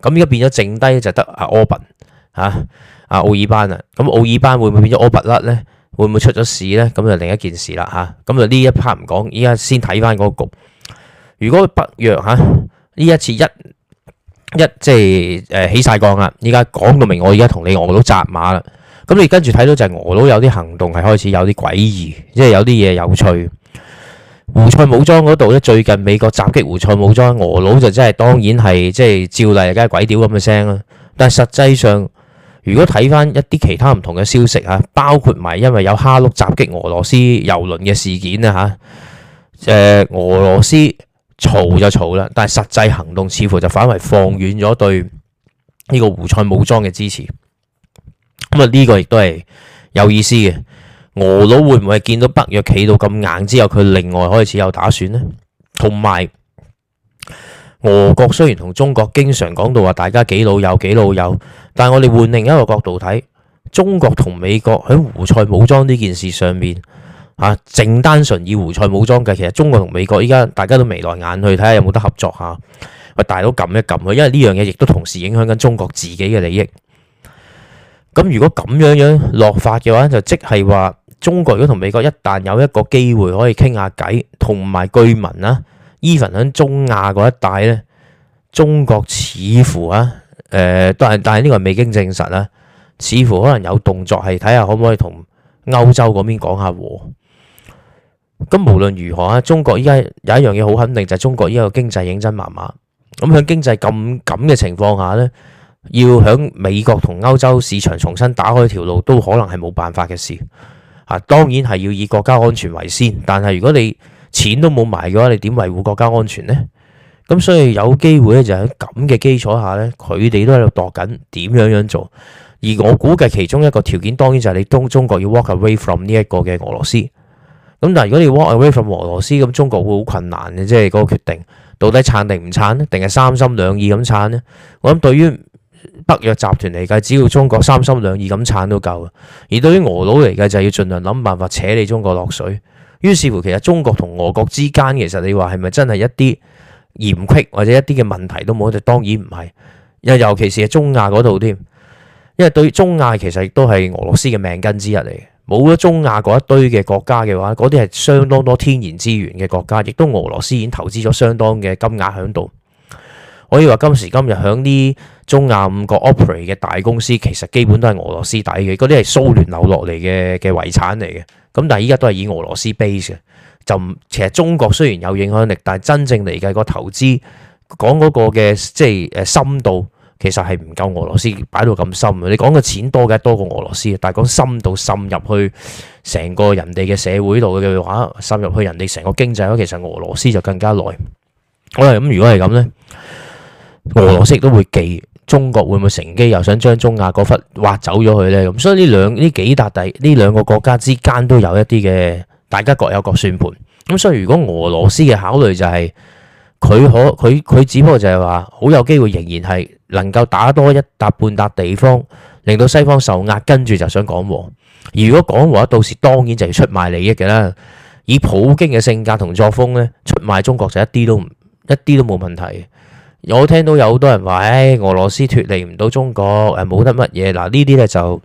咁而家變咗剩低就得阿柯賓阿奧爾班啦。咁奧爾班會唔會變咗柯拔甩咧？會唔會出咗事咧？咁就另一件事啦嚇。咁就呢一 part 唔講，依家先睇翻嗰個局。如果北約呢一次一即係起晒槓啦，依家講到明，我而家同你俄佬紮馬啦。咁你跟住睇到就係俄佬有啲行動係開始有啲詭異，即係有啲嘢有趣。胡塞武裝嗰度咧，最近美國襲擊胡塞武裝，俄佬就真係當然係即係照例，梗係鬼屌咁嘅聲啦。但係實際上，如果睇翻一啲其他唔同嘅消息嚇，包括埋因為有哈碌襲擊俄羅斯郵輪嘅事件啊嚇，俄羅斯嘈就嘈啦，但係實際行動似乎就反為放軟咗對呢個胡塞武裝嘅支持。咁啊，呢個亦都係有意思嘅。俄佬會唔會見到北約企到咁硬之後，佢另外開始有打算呢？同埋俄國雖然同中國經常講到話大家幾老友幾老友，但係我哋換另一個角度睇，中國同美國喺胡塞武裝呢件事上面啊，淨單純以胡塞武裝計，其實中國同美國依家大家都眉來眼去，睇下有冇得合作下。喂，大佬撳一撳佢，因為呢樣嘢亦都同時影響緊中國自己嘅利益。咁如果咁樣落法嘅話，就即係話中國如果同美國一旦有一個機會可以傾下偈，同埋據聞啦，even喺中亞嗰一帶呢，中國似乎但係呢個未經證實啦，似乎可能有動作係睇下可唔可以同歐洲嗰邊講下和。咁無論如何中國依家有一樣嘢好肯定，就係中國依家個經濟認真麻麻。咁喺經濟咁嘅情況下呢，要喺美國同歐洲市場重新打開條路，都可能係冇辦法嘅事。當然係要以國家安全為先，但係如果你錢都冇埋嘅話，你點維護國家安全呢？咁所以有機會咧，就喺咁嘅基礎下呢，佢哋都喺度度緊點樣做。而我估計其中一個條件，當然就係你中國要 walk away from 呢一個嘅俄羅斯。咁但係如果你 walk away from 俄羅斯，咁中國會好困難嘅，即係嗰個決定到底撐定唔撐呢？定係三心兩意咁撐呢？我諗對於北約集團嚟計，只要中國三心兩意咁撐都夠。而對於俄佬嚟計，就係要盡量諗辦法扯你中國落水。於是乎，其實中國同俄國之間，其實你話係咪真係一啲嫌隙或者一啲嘅問題都冇？就當然唔係。尤其是係中亞嗰度添，因為對中亞其實亦都係俄羅斯嘅命根之一嚟嘅。冇咗中亞嗰一堆嘅國家嘅話，嗰啲係相當多天然資源嘅國家，亦都俄羅斯已經投資咗相當嘅金額喺度。可以話今時今日響啲中亞5個 operate 嘅大公司，其實基本都係俄羅斯底嘅，嗰啲係蘇聯留落嚟嘅遺產嚟嘅。咁但係依家都係以俄羅斯 base 嘅，就其實中國雖然有影響力，但係真正嚟計個投資講嗰個嘅即係深度，其實係唔夠俄羅斯擺到咁深。你講嘅錢多嘅多過俄羅斯，但係講深度滲入去成個人哋嘅社會度嘅話，滲入去人哋成個經濟嘅話，其實俄羅斯就更加耐。好啦，咁如果係咁呢，俄羅斯亦都會忌中國會唔會乘機又想將中亞嗰忽挖走咗佢呢？咁所以呢兩個國家之間都有一啲嘅，大家各有各算盤。咁所以如果俄羅斯嘅考慮就係佢只不過就係話好有機會仍然係能夠打多一笪半笪地方，令到西方受壓，跟住就想講和。而如果講和，到時當然就要出賣利益嘅啦。以普京嘅性格同作風呢，出賣中國就一啲都冇問題。我聽到有好多人話，俄羅斯脫離唔到中國，冇得乜嘢。嗱，呢啲咧就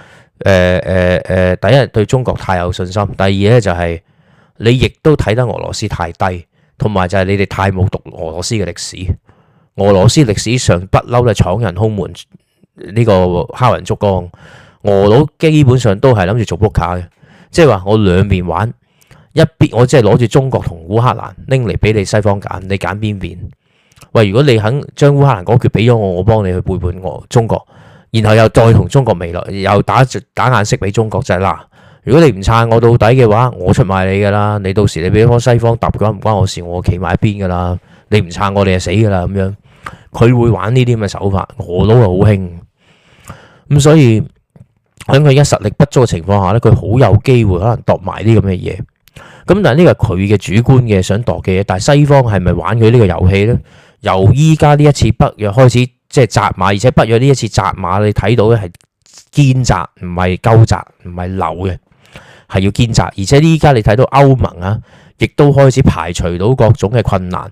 第一對中國太有信心，第二咧就係你亦都睇得俄羅斯太低，同埋就係你哋太冇讀俄羅斯嘅歷史。俄羅斯歷史上不嬲都係闖人空門，呢個敲人竹槓。俄佬基本上都係諗住做撲克嘅，即係話我兩邊玩，一邊我即係攞住中國同烏克蘭拎嚟俾你西方揀，你揀邊邊？喂，如果你肯將烏克蘭嗰橛俾咗我幫你去背叛我中國，然後又再同中國未來又打眼色俾中國，就係嗱，如果你唔撐我到底嘅話，我出賣你噶啦，你到時你俾西方揼嘅話唔關我事，我企埋一邊噶啦，你唔撐我你就死噶啦咁樣，佢會玩呢啲咁嘅手法，俄佬係好興，咁所以喺佢而家實力不足嘅情況下咧，佢好有機會可能度埋啲咁嘅嘢，咁但係呢個係佢嘅主觀嘅想度嘅嘢，但係西方係咪玩佢呢個遊戲咧？由依家呢一次北約開始即係紮馬，而且北約呢一次紮馬，你睇到咧係堅紮，唔係鳩紮，唔係流嘅，係要堅紮。而且依家你睇到歐盟啊，亦都開始排除到各種嘅困難。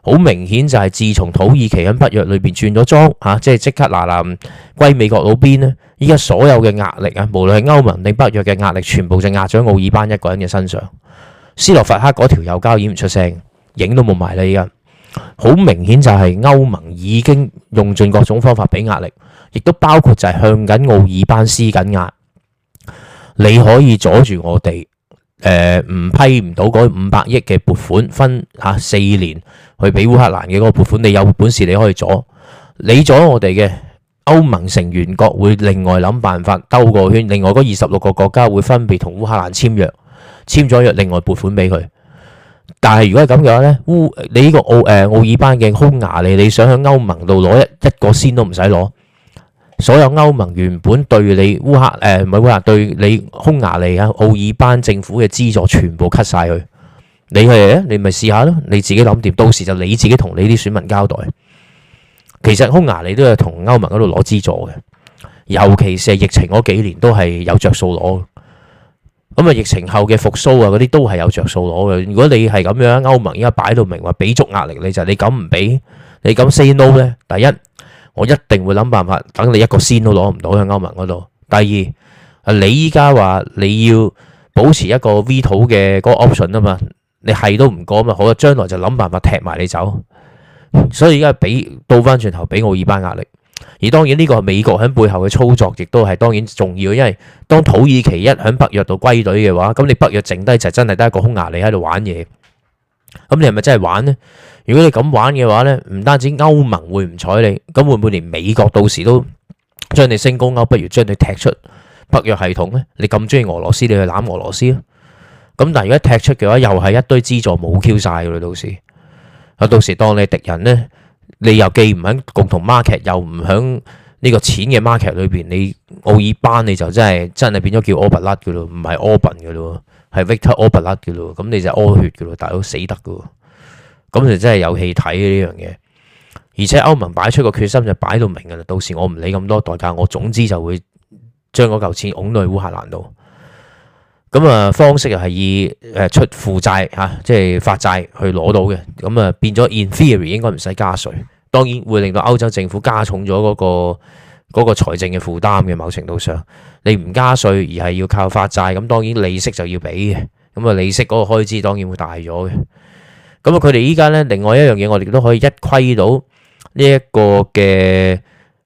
好明顯就係自從土耳其喺北約裏邊轉咗莊嚇，即刻嗱歸美國佬邊呢？依家所有嘅壓力啊，無論係歐盟定北約嘅壓力，全部就壓咗奧爾班一個人嘅身上。斯洛伐克嗰條右膠已經唔出聲，影都冇埋啦。依家好明顯就係歐盟已經用盡各種方法俾壓力，亦都包括就係向緊奧爾班施緊壓。你可以阻住我哋唔批唔到嗰500億嘅撥款，分4年去俾烏克蘭嘅嗰個撥款，你有本事你可以阻，你阻我哋嘅。歐盟成員國會另外諗辦法兜個圈，另外嗰26個國家會分別同烏克蘭簽約，簽咗約另外撥款俾佢。但係如果係咁嘅話咧，你呢個奧爾班嘅匈牙利，你想喺歐盟度攞一個先都唔使攞，所有歐盟原本對你唔係烏克蘭對你匈牙利啊奧爾班政府嘅資助全部 cut 晒佢。你咪試下咯，你自己諗掂，到時就你自己同你啲選民交代。其實匈牙利都係同歐盟嗰度攞資助嘅，尤其是疫情嗰幾年都係有着數攞。咁啊，疫情後嘅復甦啊，嗰啲都係有着數攞嘅。如果你係咁樣，歐盟而家擺到明話俾足壓力你，就係你敢唔俾，你敢 say no 咧？第一，我一定會諗辦法等你一個先都攞唔到喺歐盟嗰度。第二，你依家話你要保持一個 veto 嘅嗰個 option 啊嘛，你係都唔過嘛，好啊，將來就諗辦法踢埋你走。所以而家倒翻轉頭俾奧爾班壓力，而當然呢個係美國喺背後嘅操作，亦都係當然重要，因為當土耳其一喺北約度歸隊嘅話，咁你北約剩低就真係得一個匈牙利喺度玩嘢，咁你係咪真係玩呢？如果你咁玩嘅話呢，唔單止歐盟會唔睬你，咁會唔會連美國到時都將你升高歐，不如將你踢出北約系統呢？你咁中意俄羅斯，你去攬俄羅斯啊？咁但係如果踢出嘅話，又係一堆資助冇 Q 晒噶啦，到時當你敵人呢，你又既唔喺共同 market，又唔喺呢個錢嘅 market 裏邊，你奧爾班你就真係變咗叫柯拔拉嘅咯，唔係柯笨嘅咯，係 Victor 柯拔拉嘅咯，咁你就屙血嘅咯，大佬死得嘅，咁就真係有戲睇呢樣嘢。而且歐盟擺出個決心就擺到明嘅啦，到時我唔理咁多代價，我總之就會將嗰嚿錢拱到去烏克蘭度。咁啊，方式又係以出負債即係發債去攞到嘅，咁啊變咗 in theory 應該唔使加稅，當然會令到歐洲政府加重咗嗰個財政嘅負擔嘅。某程度上，你唔加稅而係要靠發債，咁當然利息就要俾嘅，咁啊利息嗰個開支當然會大咗嘅。咁啊，佢哋依家咧另外一樣嘢，我哋都可以一窺到呢一個嘅。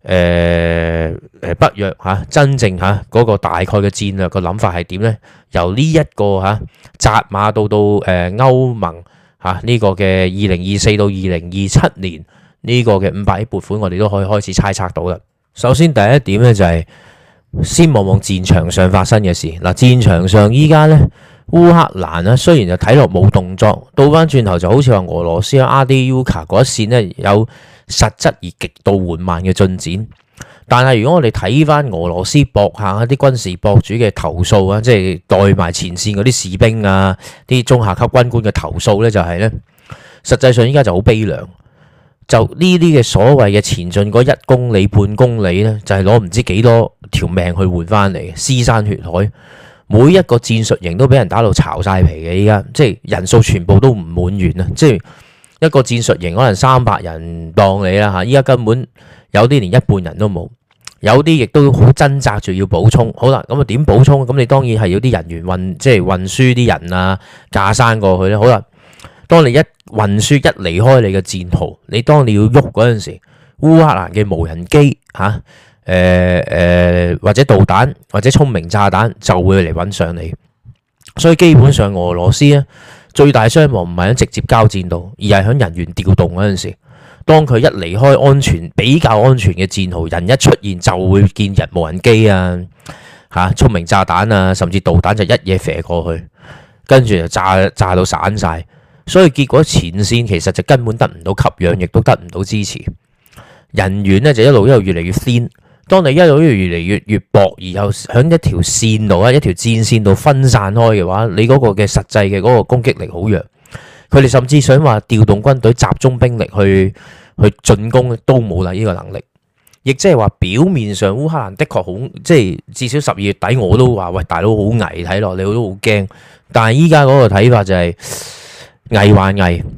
北約真正嗰個大概嘅戰略個諗法係點呢？由呢一個扎馬到歐盟呢個嘅2024到2027年呢個嘅500億撥款，我哋都可以開始猜測到啦。首先第一點呢，就係先望望戰場上發生嘅事。嗱，戰場上依家呢，烏克蘭呢雖然就睇落冇動作，倒翻轉頭就好似話俄羅斯阿迪烏卡嗰一線呢有實質而極度緩慢嘅進展，但係如果我哋睇翻俄羅斯博下啲軍事博主嘅投訴啊，即係代埋前線嗰啲士兵啊、啲中下級軍官嘅投訴呢，就係呢，實際上依家就好悲涼，就呢啲嘅所謂嘅前進嗰1公里半公里呢，就係攞唔知幾多條命去換翻嚟，屍山血海，每一個戰術營都俾人打到巢晒皮嘅，依家即係人數全部都唔滿員啊，即係。一個戰術營可能300人當你啦嚇，依家根本有啲連一半人都冇，有啲亦都好掙扎住要補充。好啦，咁啊點補充？咁你當然係要啲人員即係運輸啲人啊，架山過去咧。好啦，當你一運輸一離開你嘅戰壕，你當你要喐嗰陣時，烏克蘭嘅無人機或者導彈或者聰明炸彈就會嚟揾上你，所以基本上俄羅斯咧。最大傷亡唔係喺直接交戰度，而係喺人員調動嗰陣時。當佢一離開比較安全嘅戰壕，人一出現就會見人無人機啊、聰明炸彈啊，甚至導彈就一嘢射過去，跟住就炸到散晒。所以結果前線其實就根本得唔到給養，亦都得唔到支持。人員呢就一路越嚟越鮮。當你一路越嚟越薄，而又喺一條線度一條戰線度分散開嘅話，你嗰個嘅實際嘅嗰個攻擊力好弱。佢哋甚至想話調動軍隊集中兵力去進攻都冇啦呢個能力。亦即係話表面上烏克蘭的確好，即係至少12月底我都話喂，大佬好危，睇落你都好驚。但係依家嗰個睇法就係危還危，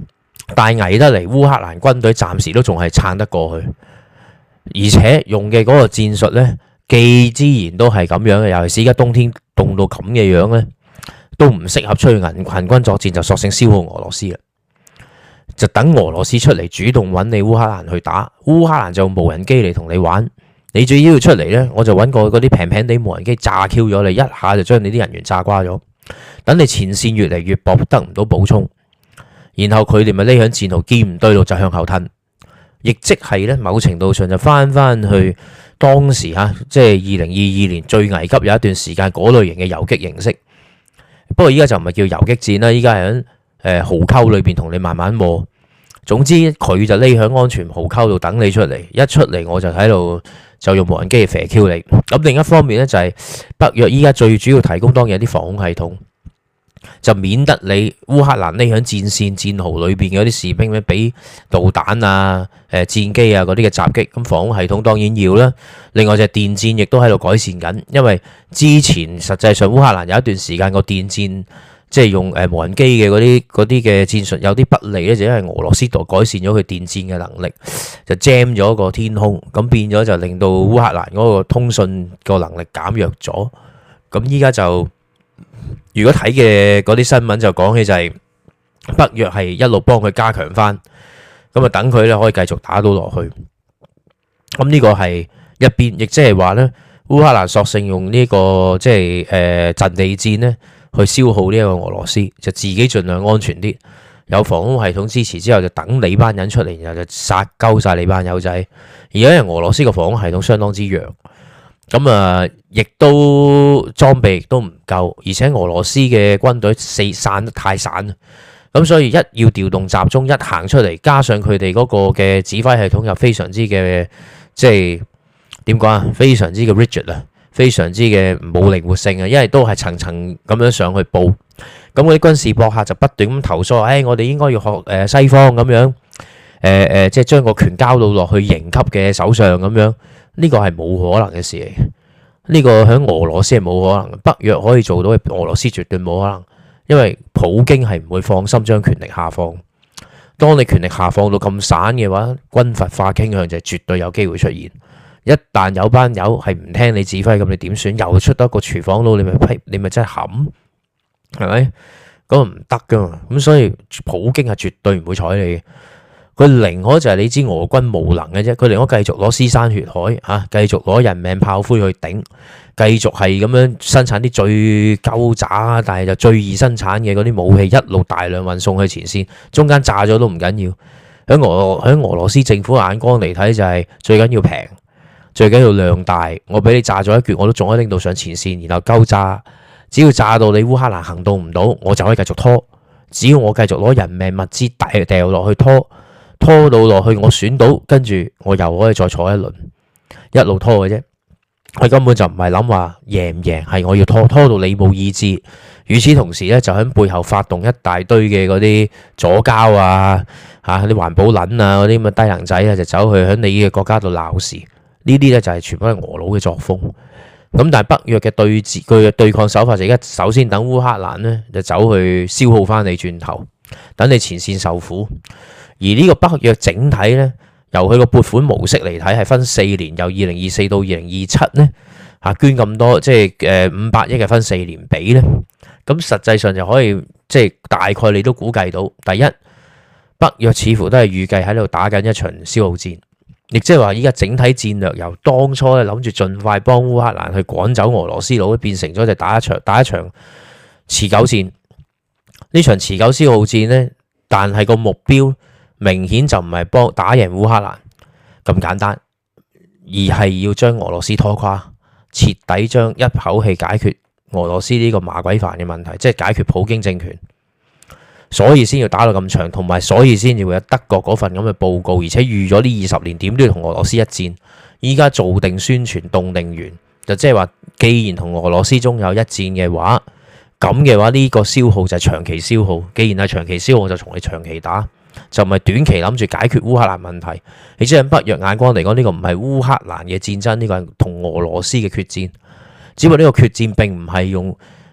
大危得嚟，烏克蘭軍隊暫時都仲係撐得過去，而且用嘅嗰個戰術呢，既之然都係咁樣嘅，尤其是而家冬天凍到咁嘅樣呢，都唔適合出去行軍作戰，就索性消耗俄羅斯啦，就等俄羅斯出嚟主動揾你烏克蘭去打，烏克蘭就用無人機嚟同你玩，你最要出嚟呢，我就揾個嗰啲平平地無人機炸 Q 咗你，一下就將你啲人員炸瓜咗，等你前線越嚟越薄，得唔到補充。然後佢哋咪匿響戰壕，見唔對路就向後吞，亦即係咧某程度上就翻去當時即係2022年最危急有一段時間嗰類型嘅游擊形式。不過依家就唔係叫游擊戰啦，依家係喺壕溝裏邊同你慢慢磨。總之佢就匿響安全壕溝度等你出嚟，一出嚟我就喺度就用無人機嚟射 Q 你。咁另一方面咧就係北約依家最主要提供當然有啲防空系統。就免得你烏克蘭匿響戰線戰壕裏邊嘅嗰啲士兵咧，俾導彈啊、戰機啊嗰啲嘅襲擊，咁防空系統當然要啦。另外就係電戰亦都喺度改善緊，因為之前實際上烏克蘭有一段時間個電戰即係用無人機嘅嗰啲嘅戰術有啲不利咧，就因為俄羅斯度改善咗佢電戰嘅能力，就 jam 咗個天空，咁變咗就令到烏克蘭嗰個通訊個能力減弱咗。咁依家就如果睇嘅嗰啲新聞就講起就係北約係一路幫佢加強翻，咁啊等佢咧可以繼續打到落去。咁呢個係一邊，亦即係話咧烏克蘭索性用呢個即係陣地戰咧去消耗呢個俄羅斯，就自己盡量安全啲，有防空系統支持之後就等你班人出嚟，然後就殺鳩晒你班友仔。而家因為俄羅斯個防空系統相當之弱。咁啊，亦都裝備亦都唔夠，而且俄羅斯嘅軍隊散得太散啦，咁所以一要調動集中，一行出嚟，加上佢哋嗰個嘅指揮系統又非常之嘅，即係點講啊？非常之嘅 rigid 啊，非常之嘅冇靈活性啊，因為都係層層咁樣上去報，咁嗰啲軍事博客就不斷咁投訴，我哋應該要學西方咁樣，即係將個權交到落去營級嘅手上咁樣。呢個係冇可能嘅事嚟嘅，呢個喺俄羅斯係冇可能，北約可以做到，俄羅斯絕對冇可能，因為普京係唔會放心將權力下放。當你權力下放到咁散嘅話，軍閥化傾向就絕對有機會出現。一旦有班友係唔聽你指揮，咁你點算？又出得一個廚房佬，你咪真係冚，係咪？咁唔得噶嘛。咁所以普京係絕對唔會睬你嘅。佢寧可就係你知俄軍無能嘅啫，佢寧可繼續攞屍山血海繼續攞人命炮灰去頂，繼續係咁樣生產啲最鳩渣但係就最易生產嘅嗰啲武器，一路大量運送去前線，中間炸咗都唔緊要。喺俄羅斯政府眼光嚟睇就係最緊要平，最緊要量大。我俾你炸咗一橛，我都仲可以拎到上前線，然後鳩炸，只要炸到你烏克蘭行動唔到，我就可以繼續拖。只要我繼續攞人命物資掉落去拖到落去，我選到，跟住我又可以再坐一輪，一路拖嘅啫。佢根本就唔係諗話贏唔贏，係我要拖到你冇意志。與此同時咧，就喺背後發動一大堆嘅嗰啲左膠啲環保撚嗰啲咁嘅低能仔就走去喺你嘅國家度鬧事。呢啲咧就係全部係俄佬嘅作風。咁但係北約嘅佢嘅對抗手法就而家首先等烏克蘭咧就走去消耗翻你轉頭，等你前線受苦。而呢個北約整體咧，由佢個撥款模式嚟睇，係分4年，由2024到2027咧捐咁多，即係500億嘅分4年俾咧。咁實際上就可以即係大概你都估計到，第一北約似乎都係預計喺度打緊一場消耗戰，亦即係話依家整體戰略由當初咧諗住盡快幫烏克蘭去趕走俄羅斯佬，變成咗就打一場持久戰。呢場持久消耗戰咧，但係個目標明顯就唔係幫打贏烏克蘭咁簡單，而係要將俄羅斯拖垮，徹底將一口氣解決俄羅斯呢個麻鬼煩嘅問題，即係解決普京政權，所以先要打到咁長，同埋所以先至會有德國嗰份咁嘅報告，而且預咗呢20年點都要同俄羅斯一戰。依家做定宣傳動定員，就即係話，既然同俄羅斯中有一戰嘅話，咁嘅話呢個消耗就係長期消耗。既然係長期消耗，就同你長期打。就唔係短期諗住解決烏克蘭問題，你知喺北約眼光嚟講，呢個唔係烏克蘭嘅戰爭，呢個係同俄羅斯嘅決戰。只不過呢個決戰並唔係用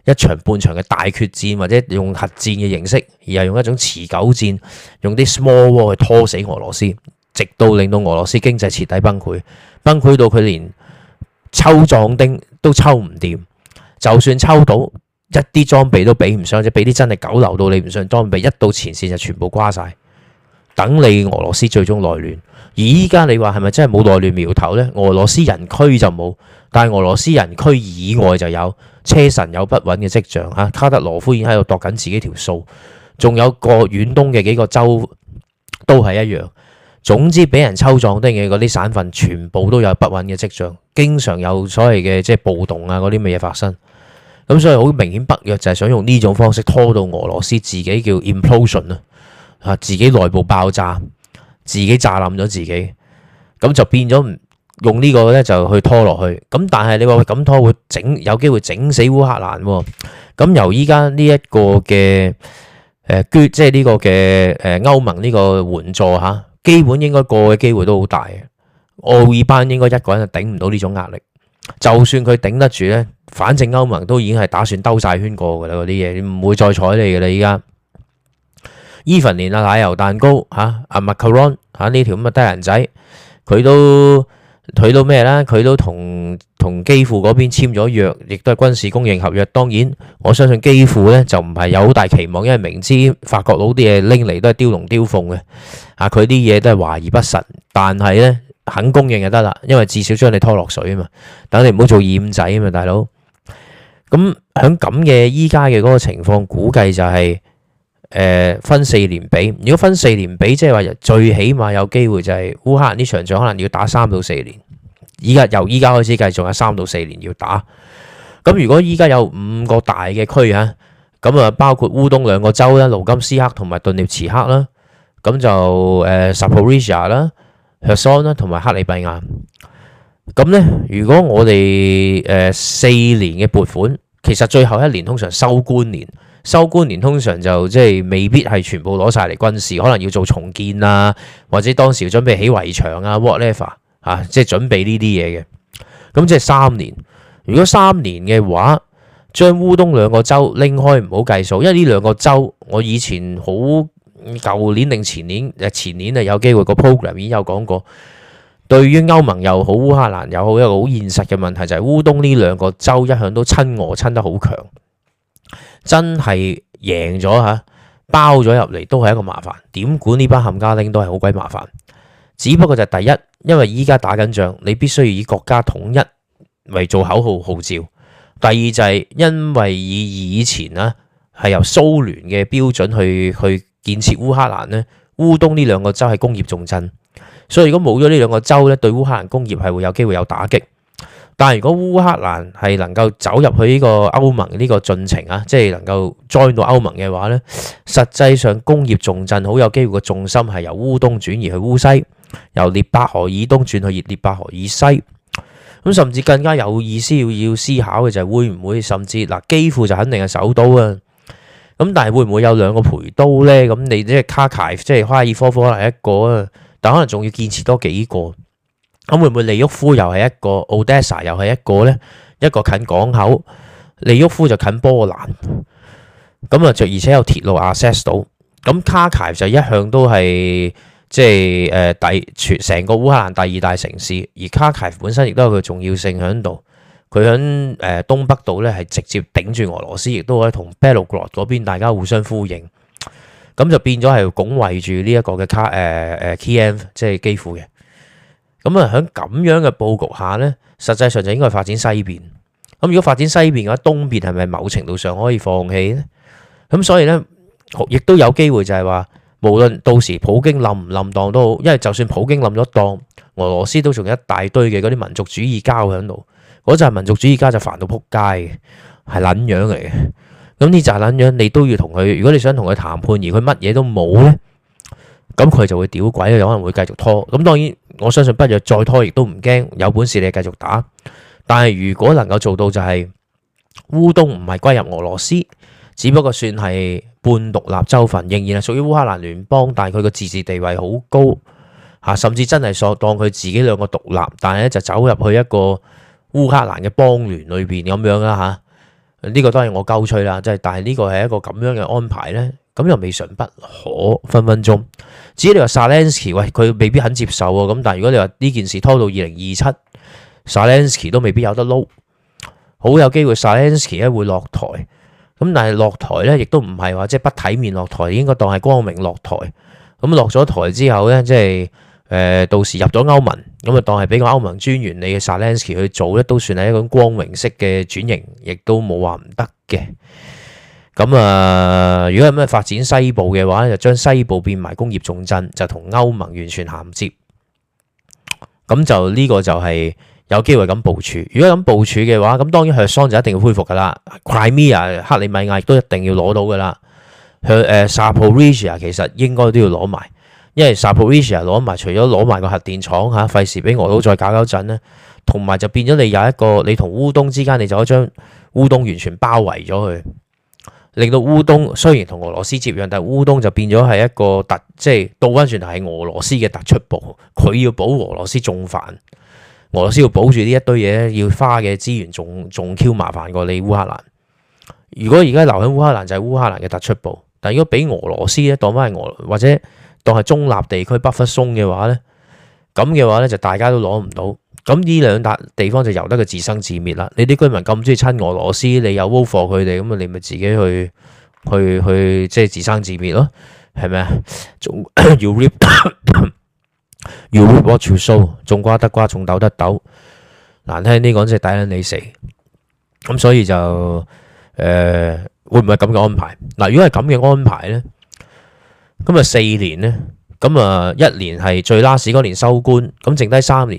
一場半場嘅大決戰，或者用核戰嘅形式，而係用一種持久戰，用啲 small war 去拖死俄羅斯，直到令到俄羅斯經濟徹底崩潰，崩潰到佢連抽壯丁都抽唔掂，就算抽到一啲裝備都比唔上，或者俾啲真係九流到你唔上裝備，一到前線就全部瓜晒，等你俄羅斯最終內亂。而依家你話係咪真係冇內亂苗頭呢？俄羅斯人區就冇，但係俄羅斯人區以外就有車臣有不穩嘅跡象嚇。卡德羅夫已經喺度度緊自己條數，仲有個遠東嘅幾個州都係一樣。總之俾人抽壯丁嘅嗰啲省份，全部都有不穩嘅跡象，經常有所謂嘅即係暴動啊嗰啲乜嘢發生。咁所以好明顯北約就係想用呢種方式拖到俄羅斯自己叫 implosion 啊，自己內部爆炸。自己炸冧咗自己，咁就變咗用呢個咧就去拖落去。咁但係你話喂咁拖會有機會整死烏克蘭喎。咁由依家呢一個嘅即係呢個嘅歐盟呢個援助嚇，基本應該過嘅機會都好大嘅。奧爾班應該一個人就頂唔到呢種壓力。就算佢頂得住咧，反正歐盟都已經係打算兜晒圈過㗎啦，嗰啲嘢唔會再睬你㗎啦依家。even 連奶油蛋糕嚇阿 Macaron 嚇呢條咁嘅低人仔，佢都咩啦？佢都同基輔嗰邊簽咗約，亦都係軍事供應合約。當然我相信基輔咧就唔係有好大期望，因為明知法國佬啲嘢拎嚟都係雕龍雕鳳嘅啊，佢啲嘢都係華而不實。但係咧肯供應就得啦，因為至少將你拖落水啊嘛，等你唔好做厭仔啊嘛，大佬。咁喺咁嘅依家嘅嗰個情況，估計就係。分4年比，如果分4年比，即係話最起碼有機會就係烏克蘭呢場仗可能要打3到4年。由依家開始計，仲有3到4年要打。咁如果依家有5個大嘅區嚇，咁啊包括烏東2個州啦，盧甘斯克同埋頓涅茨克啦，咁就Zaporizhzhia啦、Kherson 啦同埋克里米亞。咁咧，如果我哋4年嘅撥款，其實最後1年通常收官年。收官年通常就即係未必係全部攞晒嚟軍事，可能要做重建啊，或者當時準備起圍牆啊 whatever 啊，即係準備呢啲嘢嘅。咁即係3年。如果3年嘅話，將烏東2個州拎開唔好計數，因為呢2個州我以前好舊年定前年啊有機會個 program 已經有講過。對於歐盟又好烏克蘭又好，一個好現實嘅問題就係烏東呢2個州一向都親俄親得好強。真係贏咗嚇，包咗入嚟都係一個麻煩。點管呢班冚家拎都係好鬼麻煩。只不過就係第一，因為依家打緊仗，你必須要以國家統一為做口號號召。第二就係因為以前啊係由蘇聯嘅標準去建設烏克蘭呢，烏東呢2個州係工業重鎮，所以如果冇咗呢2個州咧，對烏克蘭工業係會有機會有打擊。但係如果烏克蘭係能夠走入去呢個歐盟呢個進程啊，即係能夠 join 到歐盟嘅話咧，實際上工業重鎮好有機會個重心係由烏東轉移去烏西，由聶伯河以東轉去聶伯河以西。咁甚至更加有意思要思考嘅就係會唔會甚至嗱，基輔就肯定係首都啊。咁但係會唔會有2個陪都咧？咁你即係卡卡即係哈爾科夫可能係一個啊，但可能仲要建設多幾個。咁會唔會利沃夫又係一個 Odessa 又係一個咧？一個近港口，利沃夫就近波蘭，咁啊，而且有鐵路 access 到。咁卡卡就一向都係即係成個烏克蘭第2大城市，而卡卡本身亦都有佢重要性喺度。佢喺東北度咧係直接頂住俄羅斯，亦都可以同 Belgorod 嗰邊大家互相呼應。咁就變咗係拱衛住呢一個嘅Kiev 即係基輔嘅。咁啊，喺咁樣嘅佈局下咧，實際上就應該發展西邊。咁如果發展西邊嘅話，東邊係咪某程度上可以放棄咧？咁所以咧，亦都有機會就係話，無論到時普京冧唔冧當都好，因為就算普京冧咗當，俄羅斯都仲有一大堆嘅嗰啲民族主義膠喺度。嗰陣民族主義家就煩到撲街嘅，係撚樣嚟嘅。咁呢就係撚樣，你都要同佢。如果你想同佢談判，而佢乜嘢都冇咧，咁佢就會屌鬼，有可能會繼續拖。咁當然。我相信北約再拖亦都唔驚，有本事你繼續打。但係如果能夠做到就係烏東唔係歸入俄羅斯，只不過算係半獨立州份，仍然係屬於烏克蘭聯邦，但係佢個自治地位好高嚇，甚至真係當佢自己2個獨立，但係咧就走入去一個烏克蘭嘅邦聯裏邊咁樣啦呢個當然我鳩吹啦，即係但係呢個係一個咁樣嘅安排呢，咁又未嘗不可，分分鐘。至於你話 Zelensky， 喂，佢未必肯接受喎。咁但係如果你話呢件事拖到2027，Zelensky 都未必有得撈，好有機會 Zelensky 咧會落台。咁但係落台呢，亦都唔係話即係不體面落台，應該當係光明落台。咁落咗台之後呢，即係到時入咗歐盟，咁啊當係俾個歐盟專員你嘅 Zelensky 去做咧，都算係一種光榮式嘅轉型，亦都冇話唔得嘅。咁啊，如果有咩發展西部嘅話，就將西部變埋工業重鎮，就同歐盟完全銜接。咁就呢個就係有機會咁部署。如果咁部署嘅話，咁當然赫桑就一定要恢復噶啦。Crimea 克里米亞亦都一定要攞到噶啦。Zaporizhzhia 其實應該都要攞埋。因為 Zaporizhzhia 攞埋，除咗攞埋個核電廠嚇，費事俾俄佬再搞搞震咧，同埋就變咗你有一個你同烏東之間，你就可以將烏東完全包圍咗佢，令到烏東雖然同俄羅斯接壤，但係烏東就變咗係一個即係倒翻轉頭係俄羅斯嘅突出部，佢要保俄羅斯仲煩，俄羅斯要保住呢一堆嘢，要花嘅資源仲 Q 麻煩過你烏克蘭。如果而家留喺烏克蘭就係烏克蘭嘅突出部，但係如果俾俄羅斯咧當翻係或者當係中立地區北忽松嘅話呢，咁嘅話呢就大家都攞唔到，咁呢兩笪地方就由得佢自生自滅啦。你啲居民咁中意親俄羅斯，你又 vote for 佢哋，咁啊你咪自己去即係自生自滅咯，係咪啊？要 reap what you sow， 種瓜得瓜，種豆得豆，難聽啲講即係抵撚你死。咁所以就會唔會咁嘅安排？嗱，如果係咁嘅安排呢？咁啊4年呢，咁啊1年係最 last 嗰年收官，咁剩低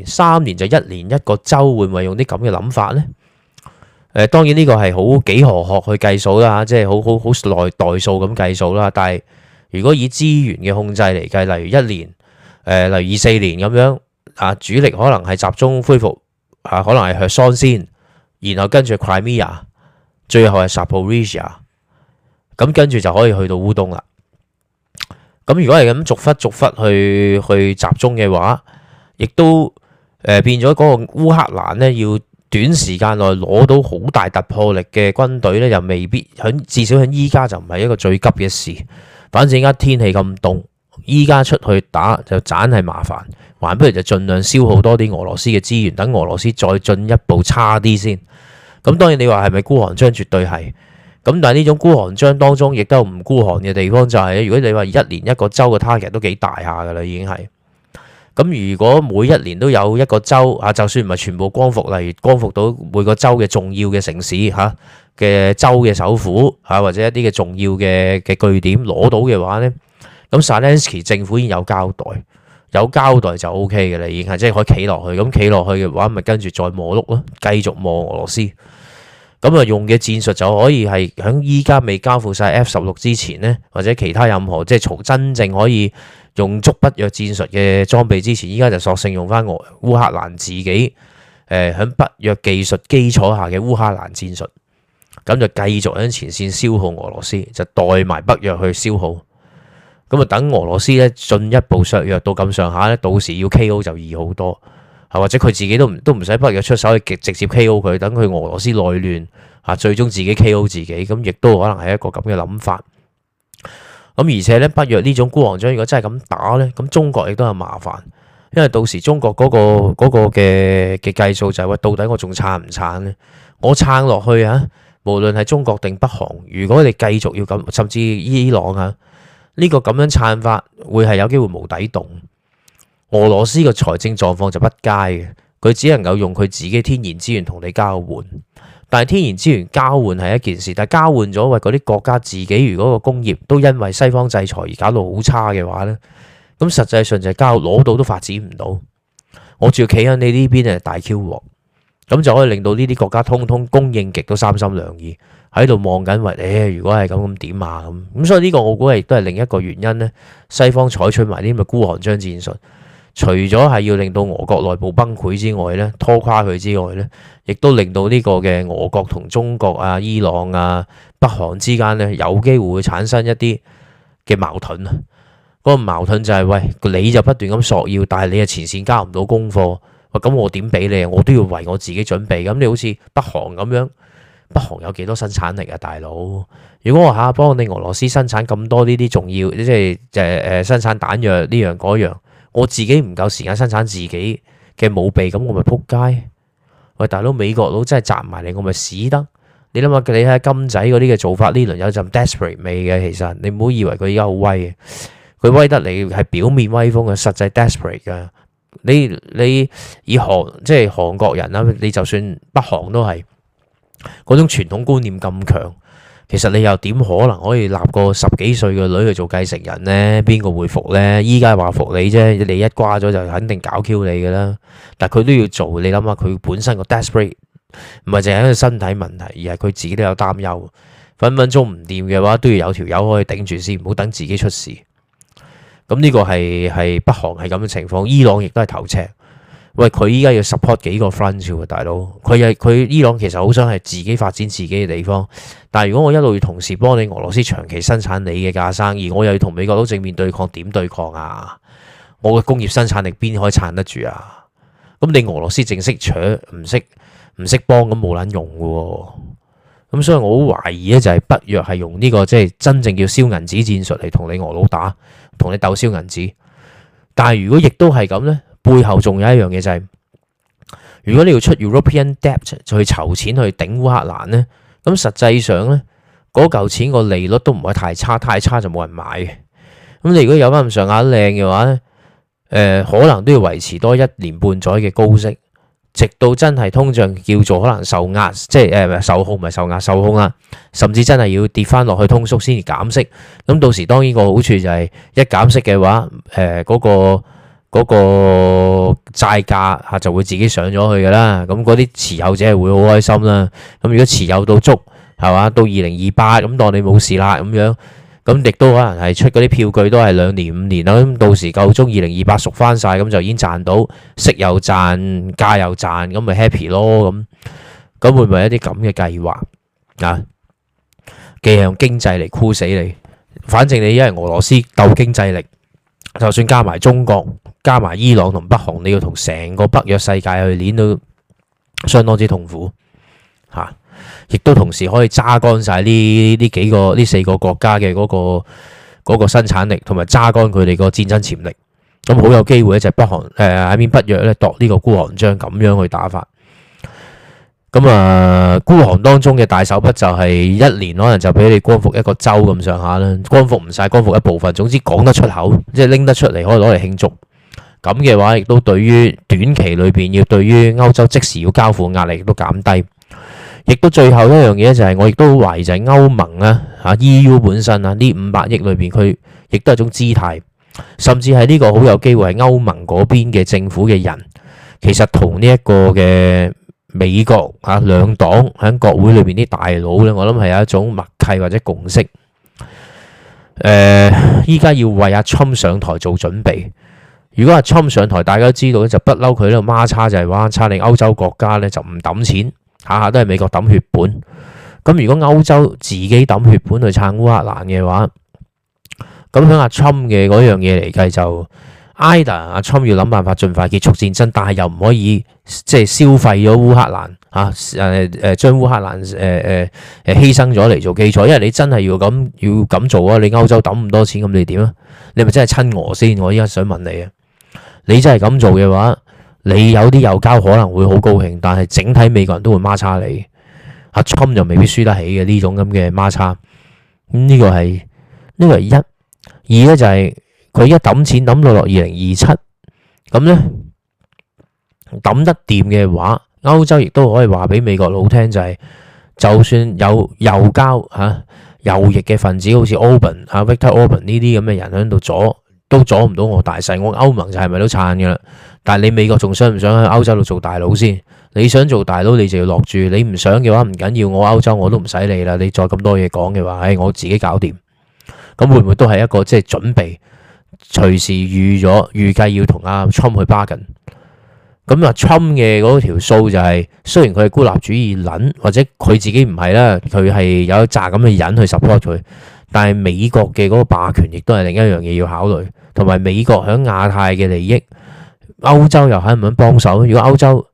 3年就1年一個州，會唔會用啲咁嘅諗法呢？當然呢個係好幾何學去計數啦，即係好耐代數咁計數啦。但係如果以資源嘅控制嚟計，例如1年，例如24年咁樣啊，主力可能係集中恢復啊，可能係赫桑先，然後跟住 Crimea， 最後係 Zaporizhzhia， 咁跟住就可以去到烏東啦。咁如果係咁逐忽去集中嘅話，亦都變咗嗰個烏克蘭呢，要短時間內攞到好大突破力嘅軍隊呢，又未必至少喺依家就唔係一個最急嘅事。反正而家天氣咁凍，依家出去打就盞係麻煩，還不如就盡量消耗多啲俄羅斯嘅資源，等俄羅斯再進一步差啲先。咁當然你話係咪孤寒將？絕對係。咁但係呢種孤寒章當中，亦都有唔孤寒嘅地方，就係如果你話1年一個州嘅 target 都幾大下噶啦，已經係。咁如果每1年都有一個州啊，就算唔係全部光復，例如光復到每個州嘅重要嘅城市嚇嘅州嘅首府嚇，或者一啲嘅重要嘅據點攞到嘅話呢，咁 Zelensky 政府已經有交代就 OK 嘅啦，已經係即係可以企落去。咁企落去嘅話，咪跟住再磨碌咯，繼續磨俄羅斯。咁啊，用嘅戰術就可以係喺依家未交付晒 F-16之前呢，或者其他任何即係從真正可以用足北約戰術嘅裝備之前，依家就索性用翻烏克蘭自己喺北約技術基礎下嘅烏克蘭戰術，咁就繼續喺前線消耗俄羅斯，就代埋北約去消耗。咁啊，等俄羅斯咧進一步削弱到咁上下咧，到時要 KO 就易好多。或者佢自己都唔使北約出手去直接 KO 佢，等佢俄羅斯內亂嚇，最終自己 KO 自己，咁亦都可能係一個咁嘅諗法。咁而且咧，北約呢種孤寒將如果真係咁打咧，咁中國亦都有麻煩，因為到時中國嗰個嘅計數就係話，到底我仲撐唔撐咧？我撐落去啊，無論係中國定北韓，如果你繼續要咁，甚至伊朗啊，呢個咁樣撐法會係有機會無底洞。俄羅斯嘅財政狀況就不佳嘅，佢只能夠用佢自己天然資源同你交換，但係天然資源交換係一件事，但係交換咗為嗰啲國家自己如果個工業都因為西方制裁而搞到好差嘅話呢，咁實際上就係攞到都發展唔到，我仲要企喺你呢邊係大 Q 鑊，咁就可以令到呢啲國家通通供應極都三心兩意，喺度望緊為如果係咁點啊咁，所以呢個我估係都係另一個原因呢，西方採取埋啲咁嘅孤寒將戰術。除咗係要令到俄國內部崩潰之外咧，拖垮佢之外咧，亦都令到呢個嘅俄國同中國啊、伊朗啊、北韓之間咧，有機會會產生一啲嘅矛盾啊。嗰個矛盾就係喂，你就不斷咁索要，但係你係前線交唔到功課，咁我點俾你啊？我都要為我自己準備。咁你好似北韓咁樣， 北韓有幾多生產力啊，大佬？如果我下幫你俄羅斯生產咁多呢啲重要，即係生產彈藥呢樣嗰樣，我自己唔夠時間生產自己嘅武備，咁我咪撲街。喂，大佬，美國佬真係集埋嚟，我咪死得。你諗下，你睇下金仔嗰啲嘅做法，呢輪有陣 desperate 味嘅。其實你唔好以為佢而家好威嘅，佢威得嚟係表面威風嘅，實際 desperate 噶。你以即係韓國人啦，你就算北韓都係嗰種傳統觀念咁強，其實你又點可能可以立個10幾歲嘅女去做繼承人呢？邊個會服呢？依家話服你啫，你一瓜咗就肯定搞 Q 你噶啦。但係佢都要做，你諗下佢本身個 desperate 唔係淨係一個身體問題，而係佢自己都有擔憂，分分鐘唔掂嘅話都要有條友可以頂住先，唔好等自己出事。咁呢個係北韓係咁嘅情況，伊朗亦都係頭赤。喂，佢依家要 support 幾個 front 喎，大佬。佢伊朗其實好想係自己發展自己嘅地方，但係如果我一路要同時幫你俄羅斯長期生產你嘅架生意，我又要同美國佬正面對抗，點對抗啊？我嘅工業生產力邊可以撐得住啊？咁你俄羅斯淨識搶，唔識幫，咁冇撚用嘅喎。咁所以我好懷疑咧，就係北約係用呢個即係真正叫燒銀紙戰術嚟同你俄佬打，同你鬥燒銀紙。但係如果亦都係咁咧，背後仲有一樣嘢就係，如果你要出 European debt 就去籌錢去頂烏克蘭咧，咁實際上咧嗰嚿錢個利率都唔係太差，太差就冇人買嘅。咁你如果有翻咁上下靚嘅話咧，可能都要維持多1年半載嘅高息。直到真係通脹叫做可能受壓，即係受控，唔係受壓，受控啦，甚至真係要跌翻落去通縮先至減息。咁到時當然個好處就係一減息嘅話，嗰個債價嚇就會自己上咗去㗎啦。咁嗰啲持有者係會好開心啦。咁如果持有到足係嘛，到2028咁當你冇事啦咁樣。咁亦都可能係出嗰啲票據都係2年5年啦，咁到時夠鐘2028贖翻晒，咁就已經賺到息又賺價又賺，咁咪 happy 咯。咁會唔會有一啲咁嘅計劃啊？既係用經濟嚟箍死你，反正你因為俄羅斯鬥經濟力，就算加埋中國、加埋伊朗同北韓，你要同成個北約世界去攣都相當之痛苦嚇。亦都同時可以揸乾晒呢4個國家嘅嗰個生產力，同埋揸乾佢哋個戰爭潛力。咁好有機會咧，就北韓喺邊北約咧度呢個孤寒章咁樣去打法。咁孤寒當中嘅大手筆就係1年可能就俾你光復一個州咁上下啦，光復唔晒，光復一部分，總之講得出口，即係拎得出嚟可以攞嚟慶祝。咁嘅話，亦都對於短期裏邊要對於歐洲即時要交付壓力亦都減低。亦都最後一樣嘢就係我亦都好懷疑就係歐盟啊嚇 EU 本身啊呢500億裏邊佢亦都係一種姿態，甚至係呢個好有機會係歐盟嗰邊嘅政府嘅人，其實同呢一個嘅美國嚇兩黨喺國會裏邊啲大佬咧，我諗係有一種默契或者共識。依家要為阿 Trump 上台做準備。如果阿 Trump 上台，大家都知道咧就不嬲佢呢個孖叉就係話叉令歐洲國家咧就唔揼錢。下下都係美國抌血本，咁如果歐洲自己抌血本去撐烏克蘭嘅話，咁喺阿 Trump 嘅嗰樣嘢嚟計就 either 阿 Trump 要諗辦法盡快結束戰爭，但係又唔可以即係消費咗烏克蘭嚇將烏克蘭犧牲咗嚟做基礎，因為你真係要咁做啊！你歐洲抌咁多錢，咁你點啊？你咪真係親俄先？我依家想問你啊，你真係咁做嘅話？你有啲右膠可能會好高興，但係整體美國人都會孖叉你。阿 Trump 就未必輸得起嘅呢種咁嘅孖叉。呢個係一。二咧就係佢一抌錢抌到落2027，咁咧抌得掂嘅話，歐洲亦都可以話俾美國佬聽就係，就算有右膠右翼嘅分子，好似 Orban Viktor Orban 呢啲咁嘅人喺度都阻唔到我大勢。我歐盟就係咪都撐嘅啦？但係你美國仲想唔想喺歐洲度做大佬先？你想做大佬，你就要落住；你唔想嘅話，唔緊要，我歐洲我都唔使理啦。你再咁多嘢講嘅話，我自己搞掂。咁會唔會都係一個即係準備，隨時預計要同阿 Trump 去 bargain？咁阿 Trump 嘅嗰條數就係，雖然佢係孤立主義撚，或者佢自己唔係啦，佢係有一紮咁嘅人去 support 佢，但係美國嘅嗰個霸權亦都係另一樣嘢要考慮，同埋美國喺亞太嘅利益。歐洲又肯唔肯幫手？如果歐洲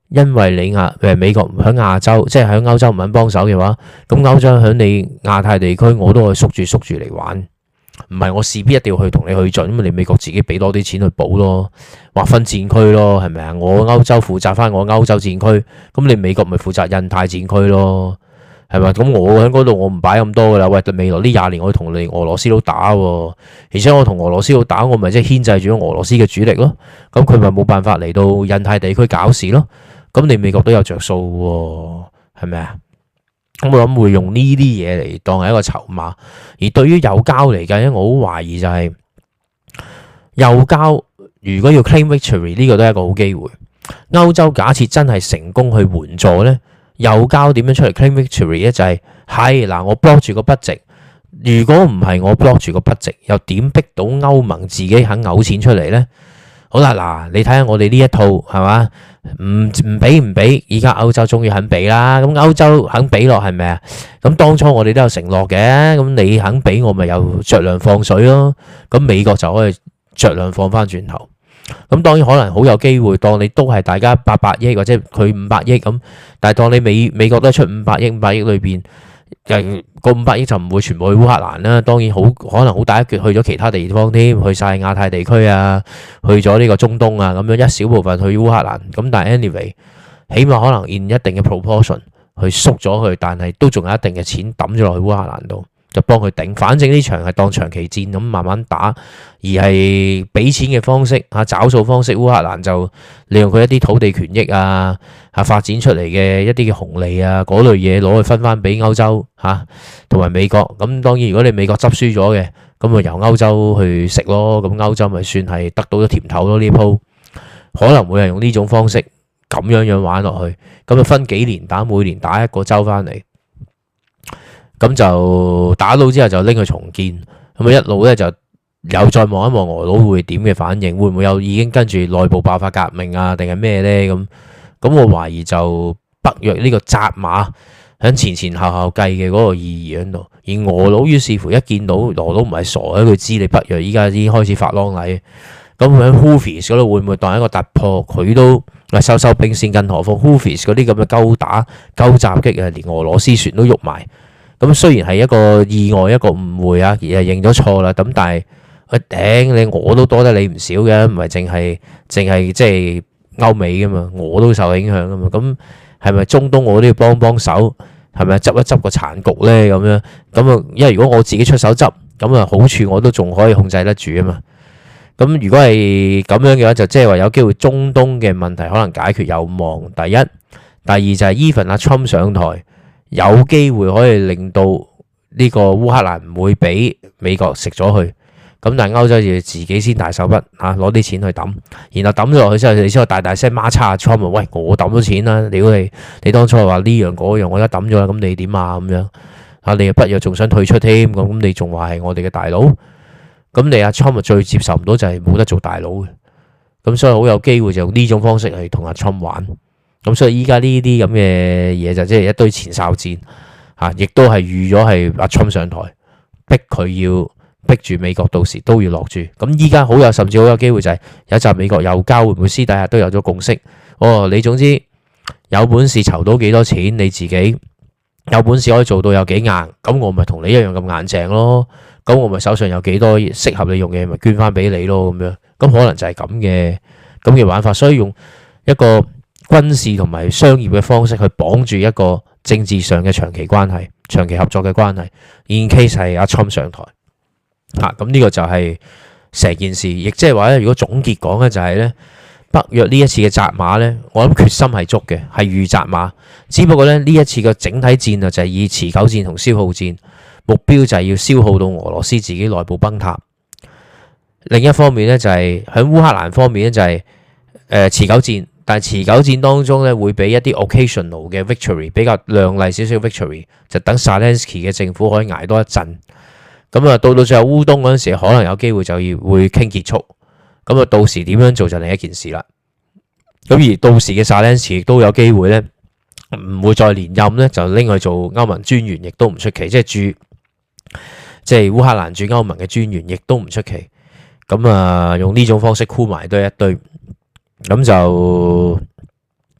因為你美國唔喺亞洲，即係喺歐洲唔肯幫手嘅話，咁歐洲喺你亞太地區我都可以縮住嚟玩，唔係我勢必一定要去同你去盡，咁你美國自己俾多啲錢去補咯，劃分戰區咯，係咪啊？我歐洲負責翻我歐洲戰區，咁你美國咪負責印太戰區咯，係咪？咁我喺嗰度我唔擺咁多噶啦，喂，未來呢20年我同你俄羅斯佬打喎，而且我同俄羅斯佬打，我咪即係牽制住俄羅斯嘅主力咯，咁佢咪冇辦法嚟到印太地區搞事咯，咁你美國都有着數喎，係咪啊？咁我諗會用呢啲嘢嚟當係一個籌碼，而對於右膠嚟計咧，我好懷疑就係右膠如果要 claim victory 呢個都係一個好機會。歐洲假設真係成功去援助咧，右膠點樣出嚟 claim victory 咧？就係嗱，我 block 住個budget，如果唔係我 block 住個 budget，又點逼到歐盟自己肯嘔錢出嚟咧？好啦，嗱，你睇下我哋呢一套係嘛？唔俾，而家歐洲終於肯俾啦。咁歐洲肯俾落係咪啊？咁當初我哋都有承諾嘅，咁你肯俾我咪又酌量放水咯。咁美國就可以酌量放翻轉頭。咁當然可能好有機會，當你都係大家800億或者佢500億咁，但係當你美國都係出500億裏邊。個500億就唔會全部去烏克蘭啦，當然可能好大一橛去咗其他地方添，去晒亞太地區啊，去咗呢個中東啊，咁樣一小部分去烏克蘭，咁但係 anyway，起碼可能 in 一定嘅 proportion 去縮咗去，但係都仲有一定嘅錢抌咗落去烏克蘭度，就幫佢頂。反正呢場係當長期戰咁慢慢打，而係俾錢嘅方式找數方式，烏克蘭就利用佢一啲土地權益啊，發展出嚟嘅一啲嘅紅利啊，嗰類嘢攞去分翻俾歐洲同埋美國。咁當然如果你美國執輸咗嘅，咁咪由歐洲去食咯，咁歐洲咪算係得到咗甜頭咯。呢鋪可能會係用呢種方式咁樣玩落去，咁就分幾年打，每年打一個州翻嚟。咁就打到之後就拎去重建，咁一路咧就又再望一望俄佬會點嘅反應，會唔會有已經跟住內部爆發革命啊，定係咩咧？咁我懷疑就北約呢個扎馬喺前後計嘅嗰個意義喺度，而俄佬於是乎一見到俄佬唔係傻嘅，佢知你北約依家已經開始發狼戾，咁喺 Houthis 嗰度會唔會當一個突破？佢都收兵線，更何況 Houthis 嗰啲咁嘅勾打襲擊啊，連俄羅斯船都喐埋。咁雖然係一個意外，一個誤會啊，而係認咗錯啦。咁但係頂你我都多得你唔少嘅，唔係淨係即係歐美噶嘛，我都受影響噶嘛。咁係咪中東我都要幫手？係咪執一執個殘局咧？咁樣因為如果我自己出手執，咁啊好處我都仲可以控制得住啊嘛。咁如果係咁樣嘅話，就即係話有機會中東嘅問題可能解決有望。第一，第二就係 even 阿 Trump 上台。有機會可以令到呢個烏克蘭唔會俾美國食咗去，咁但係歐洲就自己先大手筆攞啲錢去抌，然後抌咗落去之後，你先大聲孖叉 Trump 喂，我抌咗錢啦，屌你當初話呢樣嗰樣，我而家抌咗啦，咁你點啊？咁樣你又北約仲想退出添，咁你仲話係我哋嘅大佬，咁你阿 Trump 最接受唔到就係冇得做大佬嘅，咁所以好有機會就用呢種方式去同阿 Trump 玩。咁所以依家呢啲咁嘅嘢就即係一堆前哨戰亦都係預咗係阿 Trump 上台，逼佢要逼住美國到時都要落注。咁依家甚至好有機會就係有一集美國右膠會唔會私底下都有咗共識？你總之有本事籌到幾多錢，你自己有本事可以做到有幾硬，咁我咪同你一樣咁硬淨咯。咁我咪手上有幾多適合你用嘅，咪捐翻俾你咯。咁樣咁可能就係咁嘅玩法，所以用一個軍事同埋商業嘅方式去綁住一個政治上嘅長期關係、長期合作嘅關係。In case 係阿 Trump 上台，咁呢個就係成件事。亦即係話咧，如果總結講咧，就係咧北約呢一次嘅扎馬咧，我諗決心係足嘅，係預扎馬。只不過咧呢一次嘅整體戰啊，就係以持久戰同消耗戰，目標就係要消耗到俄羅斯自己內部崩塌。另一方面咧就係喺烏克蘭方面咧就係持久戰。但係持久戰當中咧，會俾一啲 occasional 嘅 victory， 比較亮麗少少 victory， 就等 Zelensky 嘅政府可以捱多一陣。咁啊，到最後烏東嗰陣時，可能有機會就要會傾結束。咁啊，到時點樣做就另一件事啦。咁而到時嘅 Zelensky 亦都有機會咧，唔會再連任咧，就拎去做歐盟專員，亦都唔出奇。即係烏克蘭駐歐盟嘅專員，亦都唔出奇。咁啊，用呢種方式箍埋都係一堆。咁就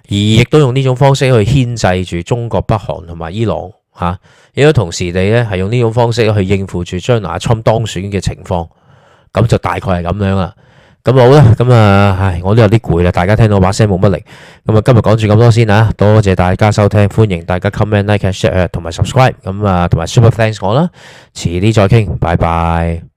而亦都用呢種方式去牽制住中國、北韓同埋伊朗嚇，亦都同時地咧係用呢種方式去應付住將來特朗普當選嘅情況，咁就大概係咁樣啦。咁好啦，咁啊，我都有啲攰啦，大家聽到把聲冇乜力，咁啊今日講住咁多先啊，多謝大家收聽，歡迎大家 comment、like、share 同埋 subscribe，咁啊同埋 super thanks 我啦，遲啲再傾，拜拜。